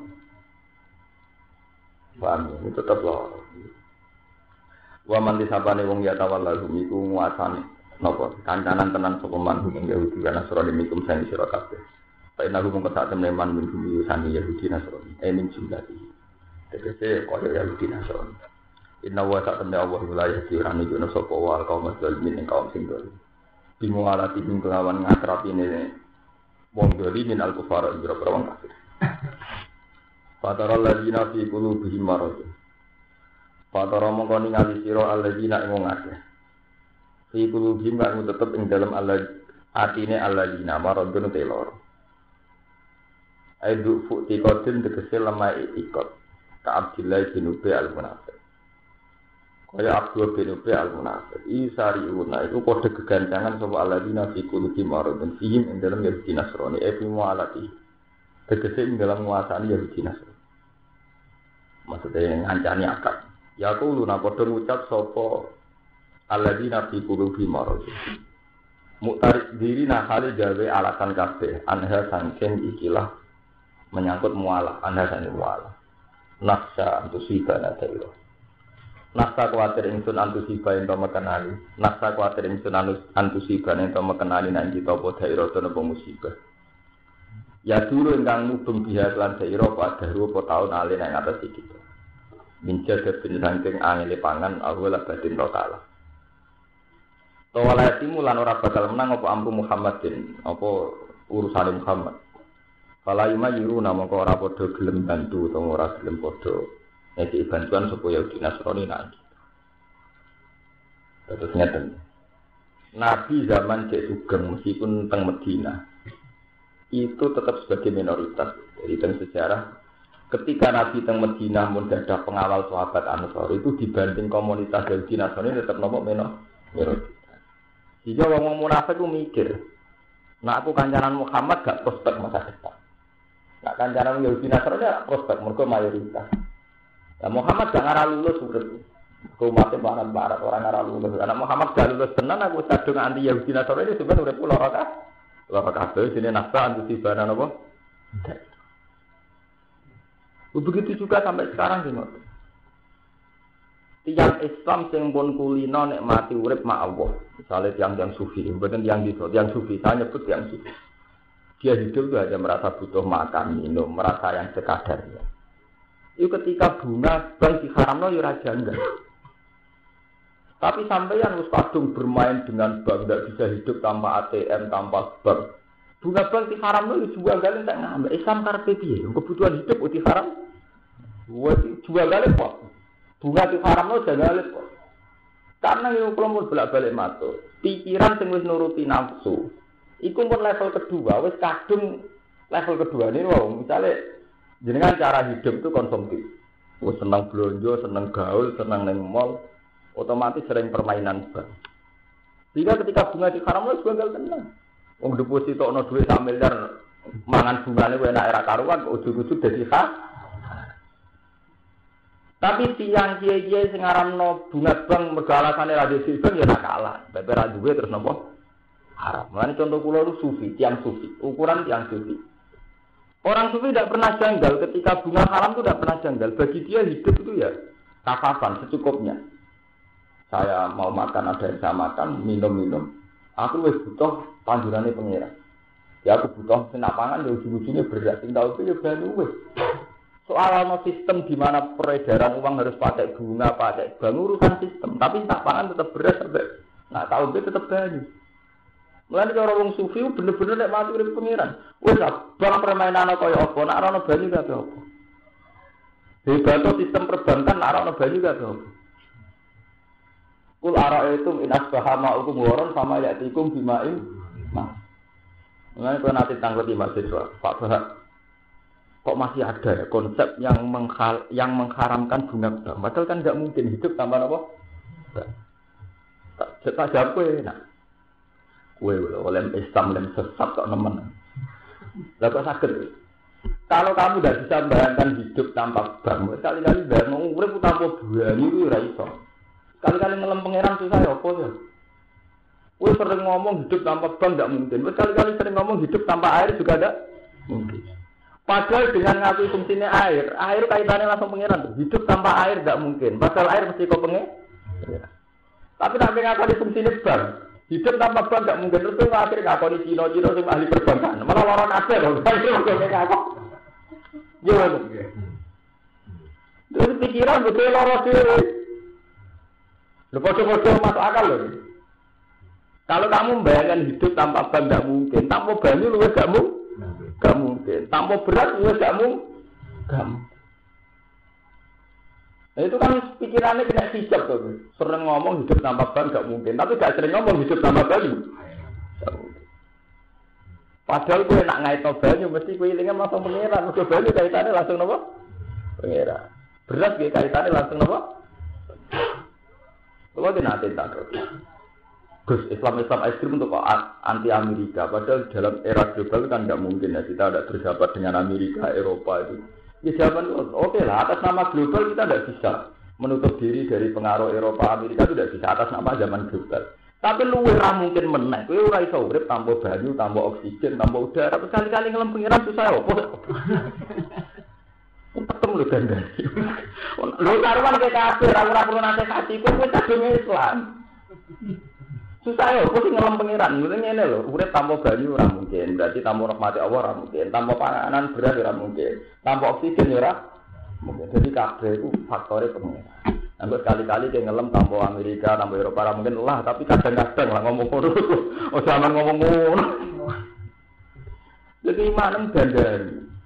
Paham ya, itu tetap lorong. Wa man disabane wong ya tawallahu iku nguasani napa kancanan tenan sapa man wong Yahudi lan Nasrani mikum sing sira kabeh. Pak nabi mung sak temne man mikum sani Yahudi Nasrani. Eh min jumlahi. Tegese kaya Yahudi Nasrani. Inna wa sak temne Allah la yahdi ran iki ana sapa wal kaum muslimin ing kaum sing dolim. Bimu alati ing kelawan ngatrapine wong dolim al-kufar ira wong kafir. Fatara ladina fi qulubihim marad. Fatara mongko ningali sira alladzina ing ngakeh. Fi qulubihim kang tetep ing dalem Allah atine alladzina maradun telor. Aidu futi qatin tegese lemah ikot. Ka Abdillah bin Ubay al-Munafiq. Kaya Abdullah bin Ubay al-Munafiq. Isariuna itu kode kegancangan sapa alladzina fi qulubihim maradun fihim ing dalem Yahudi Nasrani e fi mualati. Tegese ing dalam nguasani Yahudi Nasrani. Maksudnya ngancani akad. Ya aku luna padha ngucap sapa alladzina fi qulubihim marad. Muktarid diri nahale gawe alasan kabeh anha sangken ikilah menyangkut mualah, anha sangken mualah. Nafsa antusibana dairo. Nafsa kuwatir ingsun antusiba ento mekenani. Nafsa kuwatir ingsun antusibana ento mekenani nang kita apa dairo to napa musibah. Ya dulu ingkang mubeng biha lan dairo pada rupa taun ali nang atas iki. Minjad bin saking angele pangan awala batin taala. Tawala timulan ora bakal menang apa amru Muhammadin, apa urusane Muhammad. Fala yumayiru namaka ora padha gelem bantu utawa ora gelem padha ngeki bantuan supaya Yahudi Nasrani nang. Terus ngeten. Nabi zaman Cek Sugeng meskipun teng Madinah itu tetap sebagai minoritas. Jadi dalam sejarah ketika Nabi teng Madinah mun dadah pengawal sahabat Ansor itu dibanding komunitas Yahudi Nasrani tetap nomor minoritas. Jika orang munafik itu mikir, nah aku kancanan Muhammad gak prospek masa depan. Nah kancanan Yahudi Nasrani gak prospek, mereka mayoritas. Nah Muhammad gak ngarah lulus urip. Umatnya barat-barat orang ngarah lulus. Karena Muhammad gak lulus tenan aku sadung anti Yahudi Nasrani sebenarnya udah pulau raka. Pulau raka sini nafsa antusibana apa? Begitu juga sampai sekarang sih. Tiang Islam sing pun kulino nek mati urip mak Allah. Misalnya tiang-tiang sufi, bukan tiang gitu, tiang sufi, saya nyebut tiang sufi. Dia hidup itu hanya merasa butuh makan, minum, merasa yang sekadarnya. Itu ketika bunga bank diharamno ya raja enggak. Tapi sampai yang harus kadung bermain dengan bank, tidak bisa hidup tanpa A T M, tanpa bank. Bunga bank diharamno ya jual galeng tak ngambil. Islam karepe piye? Kebutuhan hidup uti haram. Jual galeng kok. Bunga di haram lo jangan lihat. Karena yang kelompok bolak-balik matur, pikiran sing wis nuruti nafsu. Iku pun level kedua, wis kadung level kedua ini wong misale jenengan cara hidup itu konsumtif. Wis seneng blonjo, seneng gaul, seneng nang mall, otomatis sering permainan bank. Jika ketika bunga di haram lo juga enggak tenang. Wong deposito ono dhuwit sak miliar mangan bungane kowe enak era karuan ujug-ujug dadi hak. Tapi tiang kiai-kiai sing aranno bunga bank mergo alasane ra dhewe bank ya nak kalah. Beber ra duwe terus napa? haram. Mulane contoh kula itu sufi, tiang sufi, ukuran tiang sufi. Orang sufi tidak pernah janggal ketika bunga haram itu tidak pernah janggal. Bagi dia hidup itu ya kafafan secukupnya. Saya mau makan ada yang saya makan, minum-minum. Aku wis butuh panjurane pengira. Ya aku butuh senak pangan ya ujung-ujungnya berat. Sing tau itu ya banyu wis. Soal ana sistem di mana peredaran uang harus pakai bunga, pakai bank urusan sistem. Tapi senak pangan tetap berat sampai nak tahu itu tetap banyu. Mulane cara wong sufi bener-bener nek mati urip pengiran. Wis bang permainan kaya apa, nek ora ana banyu kabeh apa. Hebat sistem perbankan nek ora ana banyu kabeh apa. Kul ara'aytum in asbaha ma'ukum waran sama ya'tikum bima'in. Nah. Mulane kok nanti tanglet di mahasiswa, Pak Bahak. Kok masih ada ya konsep yang menghal, yang mengharamkan bunga bank. Padahal kan enggak mungkin hidup tanpa apa? Tak tak jawab kowe nak. Kowe oleh Islam lem sesat kok nemen. Lah kok saged. Kalau kamu tidak bisa membayangkan hidup tanpa bank, sekali-kali bayang urip tanpa banyu itu ora iso. Sekali-kali ngelem pangeran susah ya apa ya? Kowe sering ngomong hidup tanpa bank tidak mungkin. Sekali-kali sering ngomong hidup tanpa air juga tidak mungkin. Padahal dengan ngaku fungsinya air, air kaitannya langsung pangeran. Hidup tanpa air tidak mungkin. Padahal air mesti kok pengen. Tapi tak ngaku fungsinya bank. Hidup tanpa bank tidak mungkin. Terus itu akhirnya ngaku di Cina-Cina yang ahli perbankan. Malah orang ada loh. Ngaku. Gimana? Terus pikiran betul loro dhewe. Lho padha-padha masuk akal lho. Kalau kamu membayangkan hidup tanpa bank tidak mungkin, tanpa banyu lu enggak mungkin. Enggak mungkin. Tanpa beras lu enggak mungkin. Nah, itu kan pikirannya kena hijab tuh. Sering ngomong hidup tanpa bank enggak mungkin, tapi enggak sering ngomong hidup tanpa banyu. Padahal kowe nak ngaitno banyu mesti kowe ilinge langsung pengeran. Mergo banyu kaitane langsung napa? Pengeran. Beras ge kaitane langsung napa? Kalau di nanti tak terus, Gus Islam Islam ekstrim untuk anti Amerika. Padahal dalam era global kan tidak mungkin ya kita tidak bersahabat dengan Amerika, Eropa itu. Ya jawaban oke okay lah atas nama global kita tidak bisa menutup diri dari pengaruh Eropa, Amerika itu tidak bisa atas nama zaman global. Tapi lu ora mungkin meneh. Kowe ora iso urip tanpa banyu, tanpa oksigen, tanpa udara. Tapi kali-kali ngelem pengiran susah opo. Ketemu lho ganda. Lho karuan ke kafir, ora perlu nasihati, kowe wis agama Islam. Susah ya, kok sing ngelem pengiran. Ngene lho, urip tanpa banyu ora mungkin. Berarti tanpa rahmat Allah ora mungkin. Tanpa panganan beras ora mungkin. Tanpa oksigen ora mungkin. Jadi kabeh iku faktore pengiran. Anggo sekali-kali ke ngelem tanpa Amerika, tanpa Eropa ora mungkin lah, tapi kadang-kadang lah ngomong ngono. Oh zaman ngomong ngono. Jadi imanem gandari.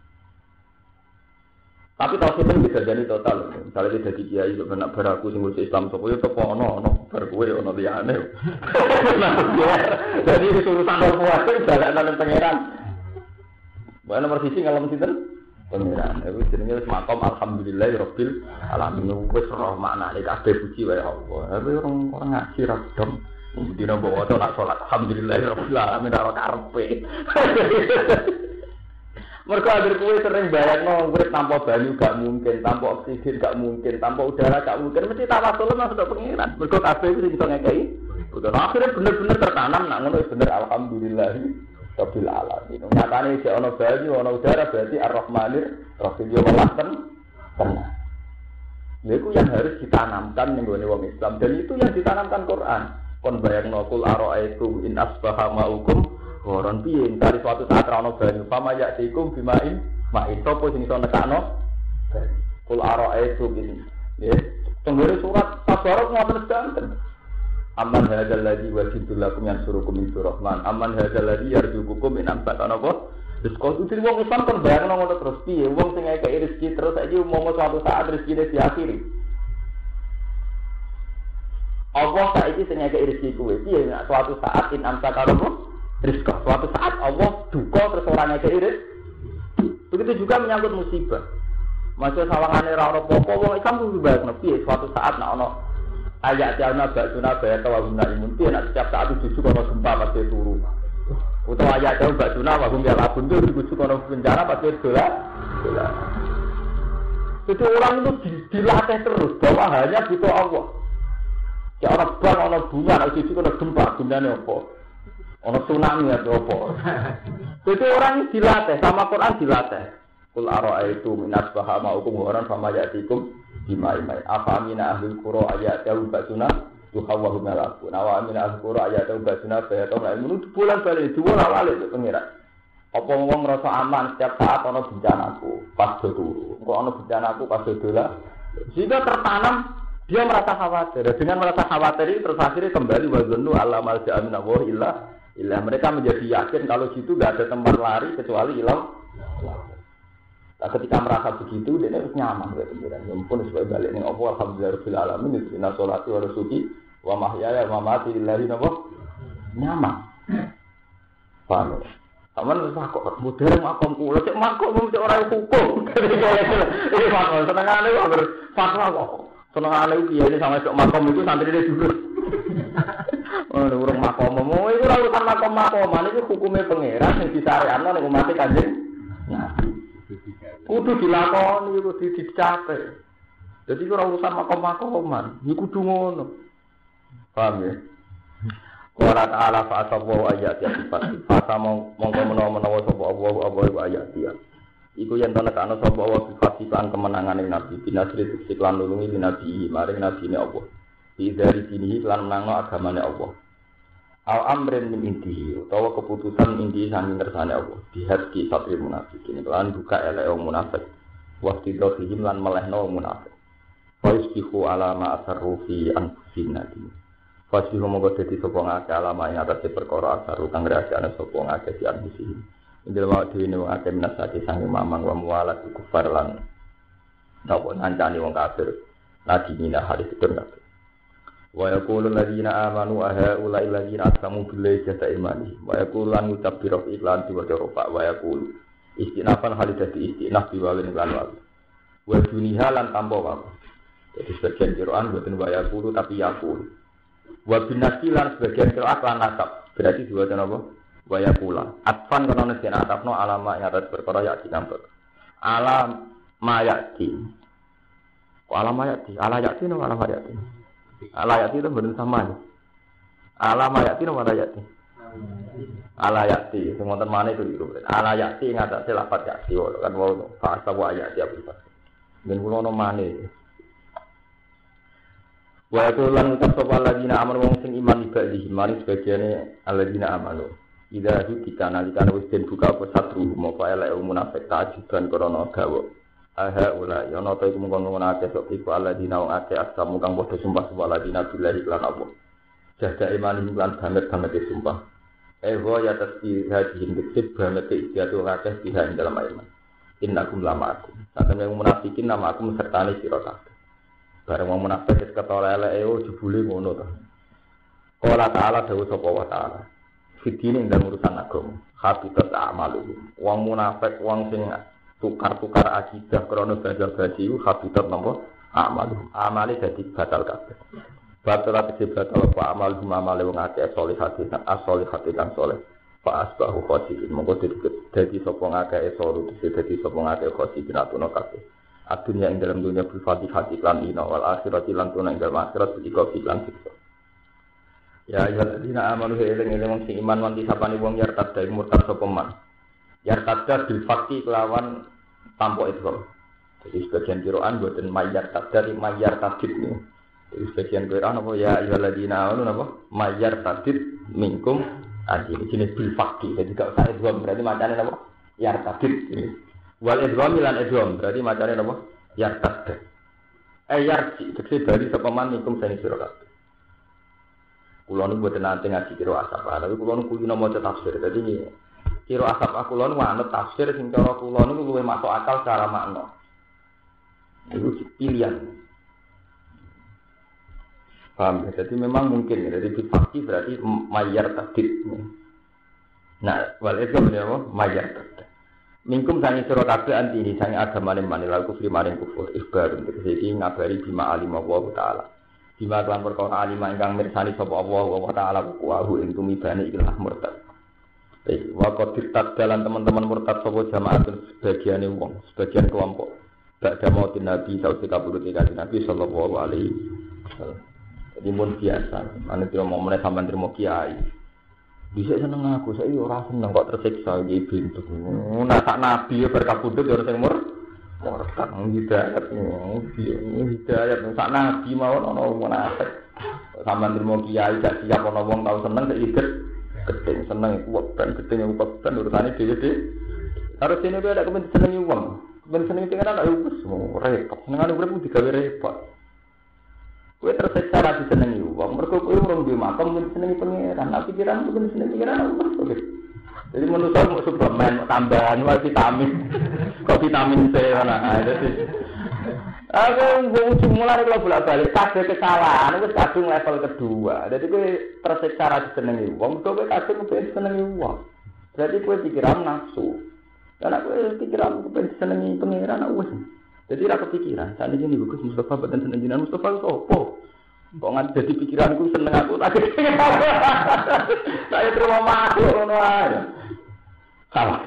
Tapi tau sih bisa jadi total. Misalnya dia jadi kiai, benak beraku sing ngurusi Islam, sopo yo tepo ono ono berkuwe ono liyane. Jadi urusan orang kuwi balanan pangeran. Bae nomor siji ngalem sinten? Pangeran. Iku jenenge wis makom alhamdulillahirabbil alamin. Wis roh maknane kabeh puji wae Allah. Tapi orang orang ngaji ra dom. Dina mbok waca nak salat alhamdulillahirabbil alamin ora karepe. Mereka akhir kue sering bayang urip tanpa banyu gak mungkin, tanpa oksigen gak mungkin, tanpa udara gak mungkin. Mesti tawasul masuk ke pengiran. Mereka kabeh itu bisa ngekei. Betul. Akhirnya bener-bener tertanam nak ngono bener alhamdulillah rabbil alamin. Nyatane jek ana banyu, ana udara berarti ar-rahmanir rahim yo walaten tenang. Niku yang harus ditanamkan ning gone wong Islam dan itu yang ditanamkan Quran. Kon bayangno kul ara'aitu in asbaha ma'ukum Orang piye dari suatu saat ra ono banyu, pama ya tikum bimain, main sapa sing iso nekakno. Kul ara'aitu bin. Nggih, tenggere surat Tabarok ngoten sedanten. Amman hadzal ladzi wajidul lakum yansurukum min rahman. Amman hadzal ladzi yarzuqukum min amsatan apa? Wis kok utir wong Islam kan bayangno ngono terus piye wong sing ngekeki rezeki terus saiki umum suatu saat rezekine diakhiri. Allah saiki sing ngekeki rezeki kuwe piye nek suatu saat in amsatan apa? Rizqa. Suatu saat Allah duka terus orangnya keiris. Begitu juga menyangkut musibah. Masih sawangane ra ono apa-apa wong Islam kudu bayangno piye suatu saat nek ono ayat jalna bakuna bayat wa guna imun piye nek setiap saat itu ono gempa pasti turu. Utawa ayat jalna bakuna wa guna labun itu kudu ono bencana pasti dolar. Dolar. Itu orang itu dilatih terus bahwa hanya butuh Allah. Ya orang bang ono bunga nek itu ono gempa gunane apa? Ono tsunami atau apa. Jadi orang dilatih sama Quran dilatih. Kul ara'aitu min asbaha ma'ukum waran fama ya'tikum bima'imai. Afa amina ahlul qura ayatahu basuna tuhawwahu malaku. Nawa amina ahlul qura ayatahu basuna bayatahu la'imun. Itu bulan balik, dua lawalik itu pengira. Apa ngomong merasa aman setiap saat ono bencanaku pas do turu. Kok ono bencanaku pas do dola. Sehingga tertanam dia merasa khawatir. Dengan merasa khawatir itu terus akhirnya kembali wazunnu alla malja'a min Allah illa illa mereka menjadi yakin kalau situ enggak ada tempat lari kecuali ilah. Nah, ketika merasa begitu dia harus nyaman ya pengiran. Ya ampun supaya balik ning Allah alhamdulillahirabbil alamin inna sholati wa nusuki wa mahyaya wa mamati lillahi nyaman. Paham? Aman wis kok modern makom kula cek makom cek ora hukum. Iki fatwa senengane kok fatwa kok. Senengane iki ya sampe cek makom iku santrine dulu. Oh, urung makom mau iku ora urusan makom-makoman iki hukume pangeran sing disariatno ning umat Kanjeng. Nah, kudu dilakoni kudu dicape. Jadi ora urusan makom-makoman, iki kudu ngono. Paham ya? Qala ta'ala fa asawu ayat ya sifat. Fasa mongko menawa-menawa sapa Allah apa iku ayat ya. Iku yen to nekano sapa Allah sifat lan kemenangane Nabi binasri siklan nulungi Nabi maring nabine Allah. Di dari sini lan menangno agamane Allah. Al amrin min intihi utawa keputusan inti sanging kersane Allah. Dihad ki satri munafikin lan buka elek wong munafik. Waqti dohim lan melehno wong munafik. Fa isbihu ala ma asarru fi anfusina. Fasih monggo dadi sapa ngake alama ing atase perkara asaru kang rahasiane sapa ngake di ambisi. Indel wae dhewe wong akeh minasati sange mamang wa mualat kufar lan napa ngancani wong kafir. Lagi mina hadis itu kabeh. Wa yaqulu alladziina aamanu aha ula alladziina aqsamu billahi jata imani. Wa yaqulu lan ngucap biro iklan diwaca rofa wa yaqulu istinafan halidati istinaf biwalin lan wa. Wa duniha lan tampa wae. Jadi sebagian Quran boten wa yaqulu tapi yaqulu. Wa binasilan sebagian qiraat lan nasab. Berarti dua cara apa? Wa yaqula. Atfan kana nek ana atafno alama ing atas perkara ya dikampek. Alam mayati. Kok alam mayati? Ala yati no alam mayati. Ala yati itu bener sama. Alam mayati no ala yati. Ala yati, sing wonten maneh itu iku. Ala yati ing atase lafaz yati kan wau fasa wa yati apa. Ben kula ono maneh. Wa yaqulun tasawwal ladina amanu wong sing iman ibadihi mari sebagiane alladzina amanu idza kita nalikan wis den buka apa satru mopo elek munafik tajiban krana gawa aha ula ya ana ta iku mung ngono akeh sok iku alladzina wong akeh asamu kang padha sumpah sumpah ladina billahi lan apa jaga iman lan banget banget sumpah eh wa ya tasbih hadihin dikit banget istiatu akeh biha ing dalam iman innakum lamakum satemene munafikin nama aku sertane sira kabeh. Bareng wong munafik wis ketara eleke o jebule ngono to. Qala ta'ala dawuh sapa wa ta'ala. Fitine ndang urusan agama. Habitat a'malu. Wong munafik wong sing tukar-tukar akidah krana bajal-baji ku habitat napa? A'malu. Amale dadi batal kabeh. Batal ati batal apa amal amale wong akeh solihati as-solihati kang saleh. Fa asbahu khosiin monggo dadi sapa ngakeh soru dadi sapa ngakeh khosiin atuna kabeh. Adunya ing dalam dunia berfatihah iklan ina wal akhirat lan tuna ing dalam akhirat iki iklan siksa. Ya ya dina amanu eling-eling sing iman wanti sapane wong yartad dari murtad sapa man. Yartad bil fakti kelawan tampo itu. Jadi sebagian Quran boten mayar tadari mayar tadid ni. Jadi sebagian Quran apa ya ayyuhalladzina amanu napa mayar tadid minkum adi jenis bil fakti. Jadi kalau saya dua berarti macamnya napa yartadid ini. Wal idgham lan idgham berarti macane napa? Yartad. Eh yarji tegese bali sapa man ikum sing sira kabeh. Kula niku mboten nate ngaji kira asap, tapi kula niku kuwi maca tafsir. Dadi kira asap aku kula niku anut tafsir sing cara kula niku luwih masuk akal secara makna. Itu pilihan. Paham ya? Jadi memang mungkin ya. Jadi fakti berarti mayar tadid. Nah, wal idgham ya apa? Mayar tadid. Mingkum sangi sira kabeh antini sangi agamane manila kufri maring kufur ikhbar tegese iki ngabari bima alim Allah taala. Bima lan perkara alim ingkang mirsani sapa Allah wa taala wa hu ing tumibane ikilah murtad. Baik, wa qadir tadalan teman-teman murtad sapa jamaah sebagiane wong, sebagian kelompok. Ba'da mautin Nabi sallallahu alaihi wasallam Nabi sallallahu alaihi wasallam. Jadi mun biasa, ane terima momen sampean terima kiai. Bisa seneng aku, saya ora seneng kok tersiksa iki bintu. Nah sak nabi ya berkabudut ya sing mur. Murtad hidayat, hidayat sak nabi mawon ana wong munafik. Sampeyan trimo kiai gak siap ana wong tau seneng sik iket. Gedeng seneng kuwat ben gedeng kuwat ben urusane dhewe-dhewe. Harus ini kowe ada kepen senengi wong. Kepen senengi pengen ana wis repot. Senengane urip digawe repot. Kowe tersiksa ra disenengi wong, mergo kowe urung duwe makom mung disenengi pangeran. Nek pikiran mung disenengi pangeran oke. Jadi manusa mau suplemen tambahan wae vitamin. Kok vitamin C ana. Dadi aku wong mulai kalau bolak-balik kabeh kesalahan wis kadung level kedua. Dadi kowe tersiksa ra disenengi wong, kowe kadung pengen disenengi wong. Berarti kowe pikiran nafsu. Karena kowe pikiran pengen disenengi pangeran wis. Jadi ra kepikiran, saat ini Gus Mustafa badan seneng jinan Mustafa sopo. Kok nggak jadi pikiranku seneng aku tak saya terima masuk ngono ae. Salah.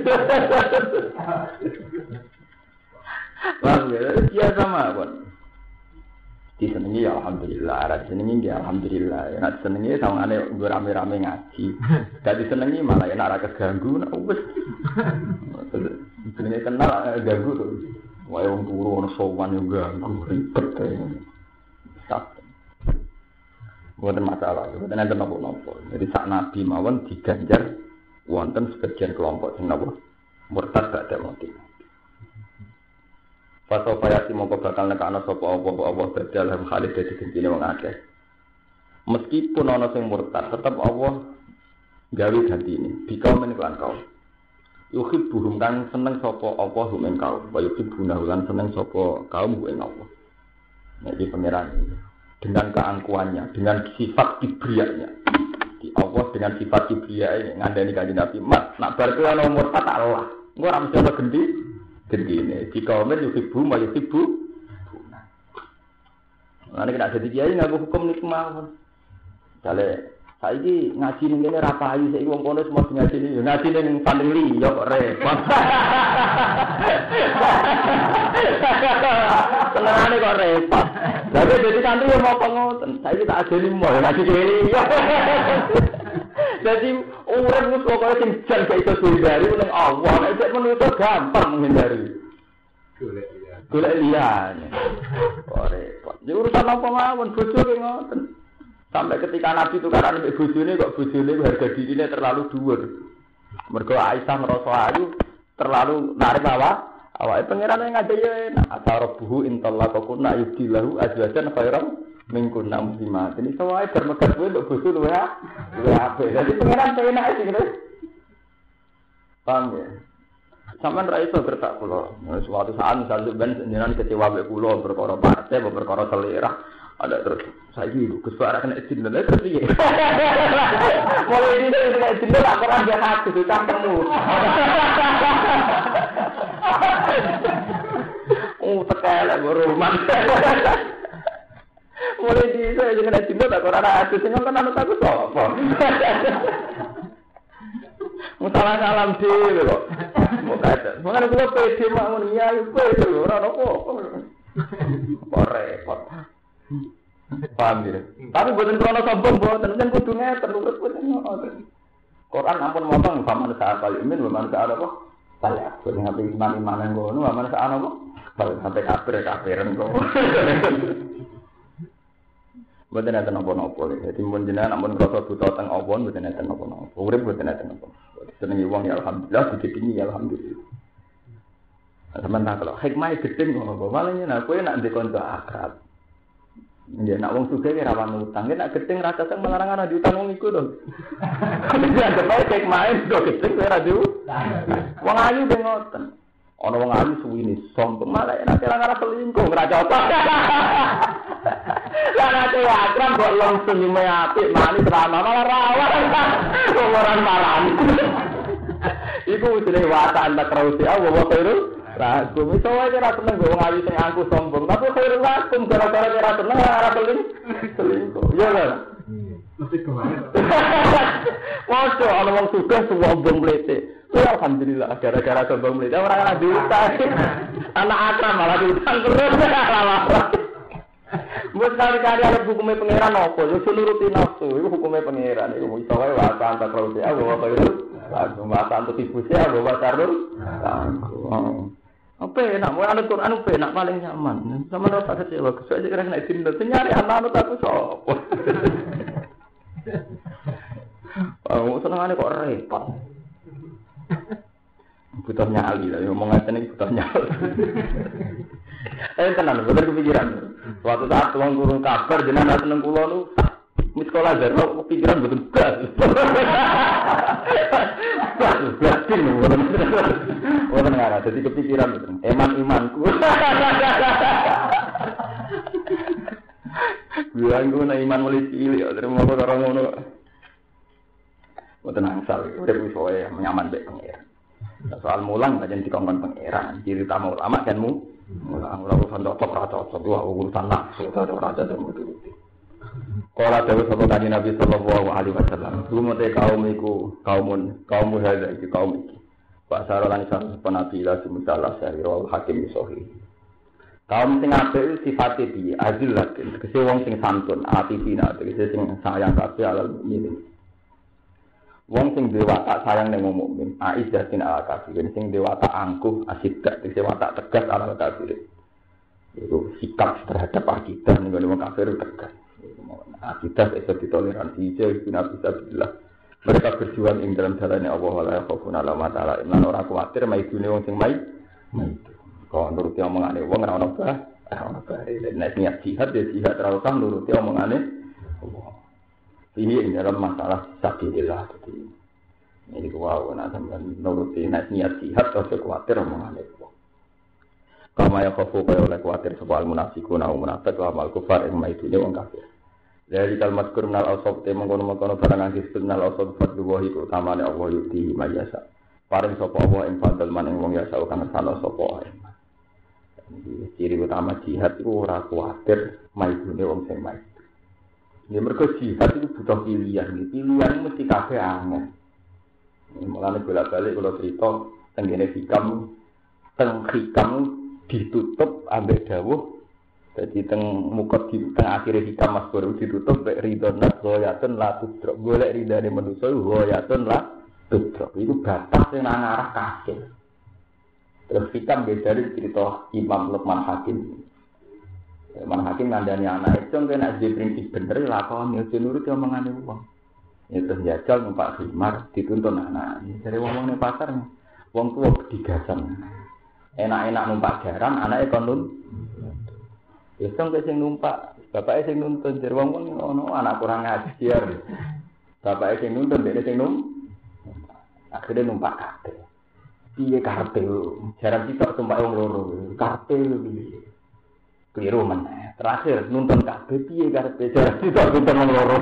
Wah, ya sama, Bon. Disenengi ya alhamdulillah, ra disenengi ya alhamdulillah. Nek disenengi sawangane nggo rame-rame ngaji. Gak disenengi malah enak ra keganggu nek wis. Disenengi kenal ganggu to. Wae wong turu ana sowan yo ganggu ribet kae. Sak. Boten masalah, boten enten napa-napa. Jadi sak nabi mawon diganjar wonten sebagian kelompok sing napa murtad gak ada motif. Fato payati mongko bakal nekana sapa apa-apa badal ham khalid dadi gentine wong akeh. Meskipun ana sing murtad, tetep Allah gawe gantine. Dikamen lan kaum. Yuhib buhum kan seneng sapa apa hum ing kaum, wa yuhib bunah lan seneng sapa kaum ing Allah. Nek iki pangeran dengan keangkuhannya, dengan sifat kibriyanya. Di Allah dengan sifat kibriya ngandani kanjeng Nabi, "Mat, nak bar kuwi ana umur tak Allah." Engko ora mesti ana gendi, gendine. Di kaum yuhib buhum wa yuhib bunah. Lah nek nek dadi kiai nganggo hukum niku mawon. Jale saiki ngaji ning kene ra payu saiki wong kono semua ngaji ning ngaji ning paling liya kok repot. Senengane kok repot. Lah kok dadi santri yo mau ngoten. Saiki tak ajeni mau ngaji kene. Dadi urip wis pokoke sing jan gak iso dihindari ning Allah. Nek menungso gampang menghindari. Golek liya. Golek liyane. Kok repot. Ya urusan apa mawon bojo ki ngoten. Sampai ketika Nabi tukaran mbek bojone kok bojone harga dirine terlalu dhuwur. Mergo Aisyah ngrasa ayu terlalu narik awak. Awake pangeran ngajak yo enak. Asarabuhu intallaqakunna yubdilahu azwajan khairan minkunna muslimat. Ini sowae bermegat kowe mbok bojo luwe luwe apik. Dadi pangeran enak iki gitu. Paham ya? Sampeyan ra iso gertak kula. Suatu saat misalnya ben jenengan kecewa mbek kula perkara partai, perkara selera. Ada terus saya gitu, kesuara kena izin dan terus iya. Mulai ini kena izin dulu, aku orang dia hati itu campurmu. Oh terkelak beruman. Mulai di saya kena izin dulu, aku orang hati sih nggak kenal aku sopo. Musalah salam deh, kok. Mengenai gua pede mak munia itu pede orang apa? Kok repot. Paham ya? Tapi buatan krono sombong buatan kan kudu ngeten urut buatan ngoten. Quran ampun motong paman saat kali imin paman saat apa? Balik buat ngapain iman-imanan ngono paman saat apa? Balik sampai kafir-kafiran kok. Buatan enten napa-napa. Jadi mun jenengan ampun krasa buta teng awon buatan enten napa-napa. Urip buatan enten napa. Senengi wong ya alhamdulillah, didikingi ya alhamdulillah. Sementara kalau hikmah gedhe ngono, malah yen kowe nak ndek kanca akrab. Ya nak wong sugih ki rawan utang, nek gedeng rasa sing melarang ana diutang wong iku to. Ya bae kek main do gedeng ora diutang. Wong ayu ben ngoten. Ana wong ayu suwine sombong malah nek ora selingkuh ora cocok. Lah nek akram kok langsung nyime apik manis rama malah rawan. Orang marani. Iku jenenge wataan tak rausi Allah wa khairul lakum. Iso wae ora seneng go wong ayu sing angku sombong, tapi khairul lakum gara-gara ora seneng ora peling selingkuh. Iya kan? Mesti kemana? Waduh, ana wong sugih sombong mlete. Ya alhamdulillah gara-gara sombong mlete ora ana diutang. Anak akram malah diutang terus. Mbok sekali-kali ada hukumnya pangeran apa? Yo nuruti nafsu, itu hukumnya pangeran. Iku iso wae wae antar terus ya, bawa kaya lagu mata antuk ibu saya, bawa tarul. Apa enak, mau anut Quran apa enak paling nyaman. Sama ora tak kecewa, kesuwe kira nek dinten nyari anak-anak aku sapa. Oh, senengane kok repot. Butuh nyali lah, ngomong aja nih butuh nyali. Eh tenan, bener kepikiran. Suatu saat tuang guru kabar jenengan seneng kula nu di sekolah jero kepikiran betul gas. Berarti nih, orang nggak jadi kepikiran betul. Eman imanku. Bilang gue na iman mulai cilik, terus mau orang ngono. Mau tenang sal, udah gue soalnya menyaman baik pangeran. Soal mulang aja dikongkon pangeran. Ciri utama ulama kan mu. Mulang urusan cocok cocok, dua urusan nafsu, cocok raja dan betul. Kalau ada beberapa kali Nabi Sallallahu Alaihi Wasallam, dulu mereka kaum iku kaumun kaum muhada itu kaum itu. Pak Sarolan Islam Nabi lah semuanya sehari rawal hakim sohi. Kaum sing apik itu sifatnya dia azil lakin, kese wong sing santun, atifina, kese sing sayang kabeh alal mukmin. Wong sing duwe watak sayang ning wong mukmin, aizatin ala kafirin, sing duwe watak angkuh, asidak, kese watak tegas ala kafirin. Itu sikap terhadap akidah ning wong kafir tegas. Akidah itu ditoleransi, jadi Nabi Sallallahu. Mereka berjuang ing dalam jalannya Allah wala yakhafuna lawmata laim lan ora kuwatir maidune wong sing mai. Kok nuruti omongane wong ora ono bah, ora ono bah. Nek niat jihad ya jihad ora usah nuruti omongane Allah. Ini dalam masalah sabilillah tadi. Ini kuwi ana sampeyan nuruti nek niat jihad ora kuwatir omongane Allah. Kama yakhafu kaya oleh kuwatir sapa al-munafiquna wa munafiq wa al-kufar ing maidune wong kafir. Dari kalimat kurnal al-sob te mengkono-mengkono barang antis kurnal al-sob fadluwahi keutamane Allah yuti mayasa. Paring sapa Allah ing fadl man ing wong yasa kana sana sapa ae. Ciri utama jihad iku ora kuwatir maidune wong sing mait. Ya mergo jihad itu butuh pilihan, pilihan mesti kabeh angel. Mulane bolak-balik kula crita teng kene hikam teng hikam ditutup ambek dawuh. Jadi teng mukot di teng akhir hikam mas baru ditutup mek ridho nak goyatun la tudrok. Golek ridane manusa goyatun la tudrok. Iku batas sing nang arah kafir. Terus hikam dari cerita Imam Luqman Hakim. Luqman Hakim ngandani anak itu kena di prinsip bener lakoni aja nurut omongane wong. Ya terus jajal numpak khimar dituntun anak. Dari wong-wong ning pasar wong tuwa digasan. Enak-enak numpak jaran anake kon nun. Iseng ke sing numpak, bapake sing nuntun jar wong ngono anak kurang ajar. Bapake sing nuntun dhek sing num. Akhire numpak kabeh. Piye karepe? Jaran sitok numpak wong loro. Karepe piye? Kliru meneh. Terakhir nuntun kabeh piye karepe? Jaran sitok nuntun wong loro.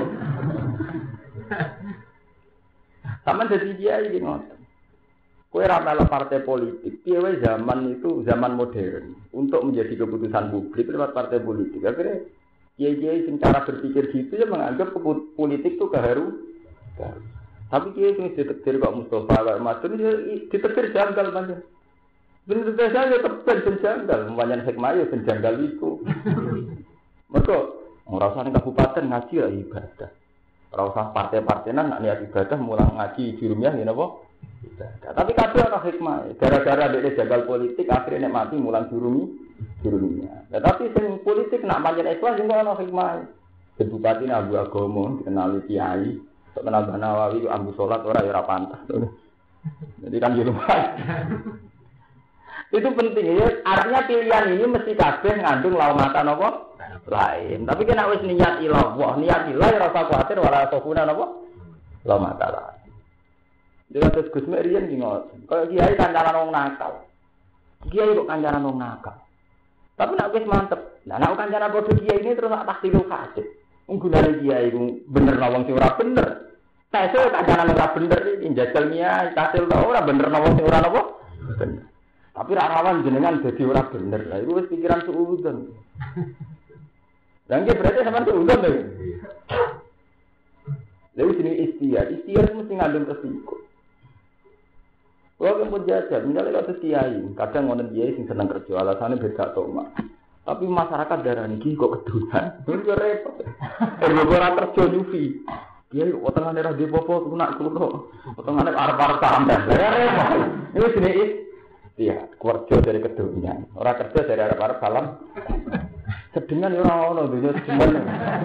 Sampeyan dadi dia iki ngoten. Kowe ora melok partai politik. Piye wae zaman itu zaman modern untuk menjadi keputusan publik lewat partai politik. Akhirnya kiai-kiai sing cara berpikir gitu ya menganggap politik itu keharu. Tapi kiai sing ditetir kok Mustafa kok Madun ya ditetir janggal pancen. Bener saja tepen janggal, pancen hikmah ya janggal itu. Mergo ora usah ning kabupaten ngaji ya ibadah. Ora usah partai-partainan nak niat ibadah mulang ngaji jurumiyah ya napa? Ibadah. Tapi kabeh ana hikmah. Gara-gara dhek jagal politik akhirnya nek mati mulang jurumi jurumiyah. Nah, tapi sing politik nak pancen ikhlas sing ana hikmah. Bupati Abu Agomo dikenali kiai, kenal Banawawi ambu salat ora ya ora pantas. Jadi kan di rumah. Itu penting ya. Artinya pilihan ini mesti kabeh ngandung laumatan apa? Lain. Tapi kena wis niat ilallah, niat ilah ora usah kuwatir ora sofuna napa? Laumatan lain. Dia terus Gus Merian ki ngoten. Kaya kiai kancanan wong nakal. Kiai kok kancanan wong nakal. Tapi nek wis mantep. Lah nek kancanan padha kiai ini terus tak tahsilul fasik. Wong gunane kiai ku bener wong sing ora bener. Tesel kancanan ora bener iki njajal kiai, tahsil ora bener wong sing ora napa? Bener. Tapi ra rawan jenengan dadi ora bener. Lah iku wis pikiran suudzon. Lah nggih berarti sampean suudzon lho. Lalu sini istiar, istiar mesti ngandung resiko. Kalau kamu jajah, misalnya kalau kiai, kadang ngonen kiai sing seneng kerja, alasannya beda toma. Tapi masyarakat darah ini kok kedunan, itu repot. Eh, ora kerja nyufi. Dia potongan daerah di popo nak kulo. Potongan arep-arep tambah. Ya repot. Ini sini iya, kerja dari kedunan. Ora kerja dari arep-arep salam. Sedengan ora ono dunya sedengan.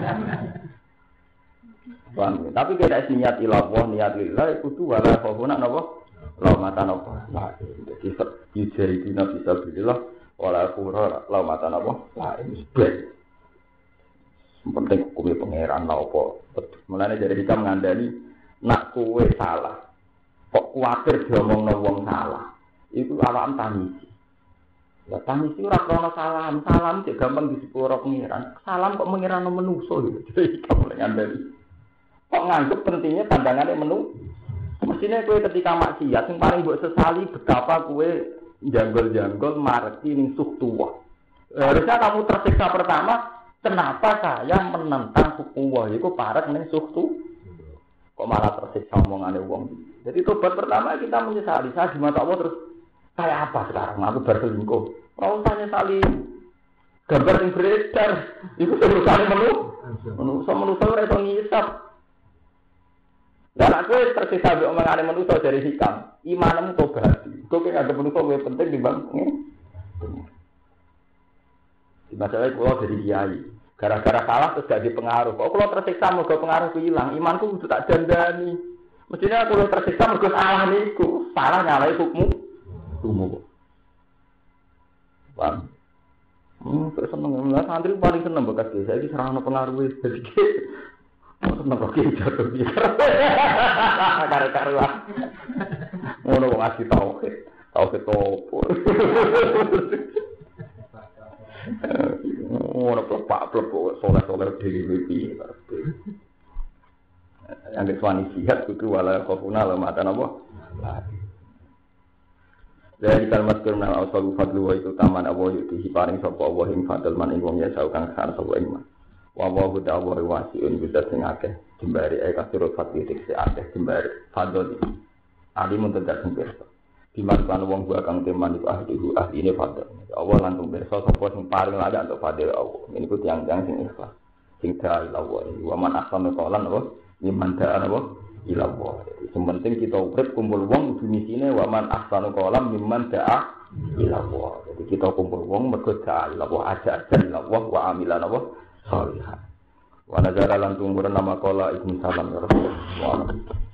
Bang, tapi kita niat ilallah, niat lillah kudu wala khofuna napa? Laumatan apa? Nah, jadi yujahidina bisa bilillah wala khura laumatan apa? Nah, ini sebenarnya penting hukumnya pangeran lah apa. Mulanya dari kita mengandani nak kowe salah kok kuatir diomongno wong salah itu awam tangisi ya tangisi ora krono salam salam cek gampang disepuro pangeran salam kok pangeran menungso gitu jadi kita mulai ngandani kok nganggep pentingnya pandangannya menu mestinya kowe ketika maksiat sing paling mbok sesali betapa kowe janggol-janggol mareti ning suhtuwah. Harusnya kamu tersiksa pertama, kenapa saya menentang suhtuwah iku parek ning suhtu? Kok malah tersiksa omongane wong. Jadi tobat pertama kita menyesali, saya di mata Allah terus kayak apa sekarang aku berselingkuh. Ora usah nyesali. Gambar sing beredar iku terusane menu. Menungso menungso ora iso ngisap. Dan aku tersiksa ambek omongane manusia dari hikam. Imanmu tobat. Kok ki ada manusia luwih penting dibanding. Di masalah kula dari kiai. Gara-gara salah terus gak dipengaruh. Kok kula tersiksa mergo pengaruh ilang, imanku kudu tak dandani. Mestinya aku tersiksa mergo salah niku. Salah nyalahi hukum. Hukum. Paham? Hmm, terus seneng lah santri paling seneng bekas desa iki serana pengaruh dadi seneng kok jatuh dia. Karo-karuan. Ngono kok ngasih tauhid. Tauhid opo. Ngono kok Pak Plek soleh-soleh dhewe piye kabeh. Yang diswani sihat kudu wala khofuna la mata napa? Dari kalimat kurna al-awsalu fadlu wa itu taman Allah yuti paring sapa Allah ing fadl man ing wong ya saukang san sapa ing man. Wa wa huda wa wasiun bisa sing akeh jembari e kasur fatih sing akeh jembari fadl ali mun tedak sing pirsa diman kan wong gua kang teman iku ahli ahline fadl Allah langsung pirsa sapa sing paring ladak untuk fadl Allah niku tiyang-tiyang sing ikhlas sing ta ila wa wa man ahsanu qalan apa liman da'a apa ila Allah sing penting kita urip kumpul wong kudu misine wa man ahsanu qalan liman da'a ila Allah jadi kita kumpul wong mergo da'a ila Allah aja ila Allah wa amilan apa salihah. Wa nazara lan tumuran nama qala ibnu salam ya Rasulullah.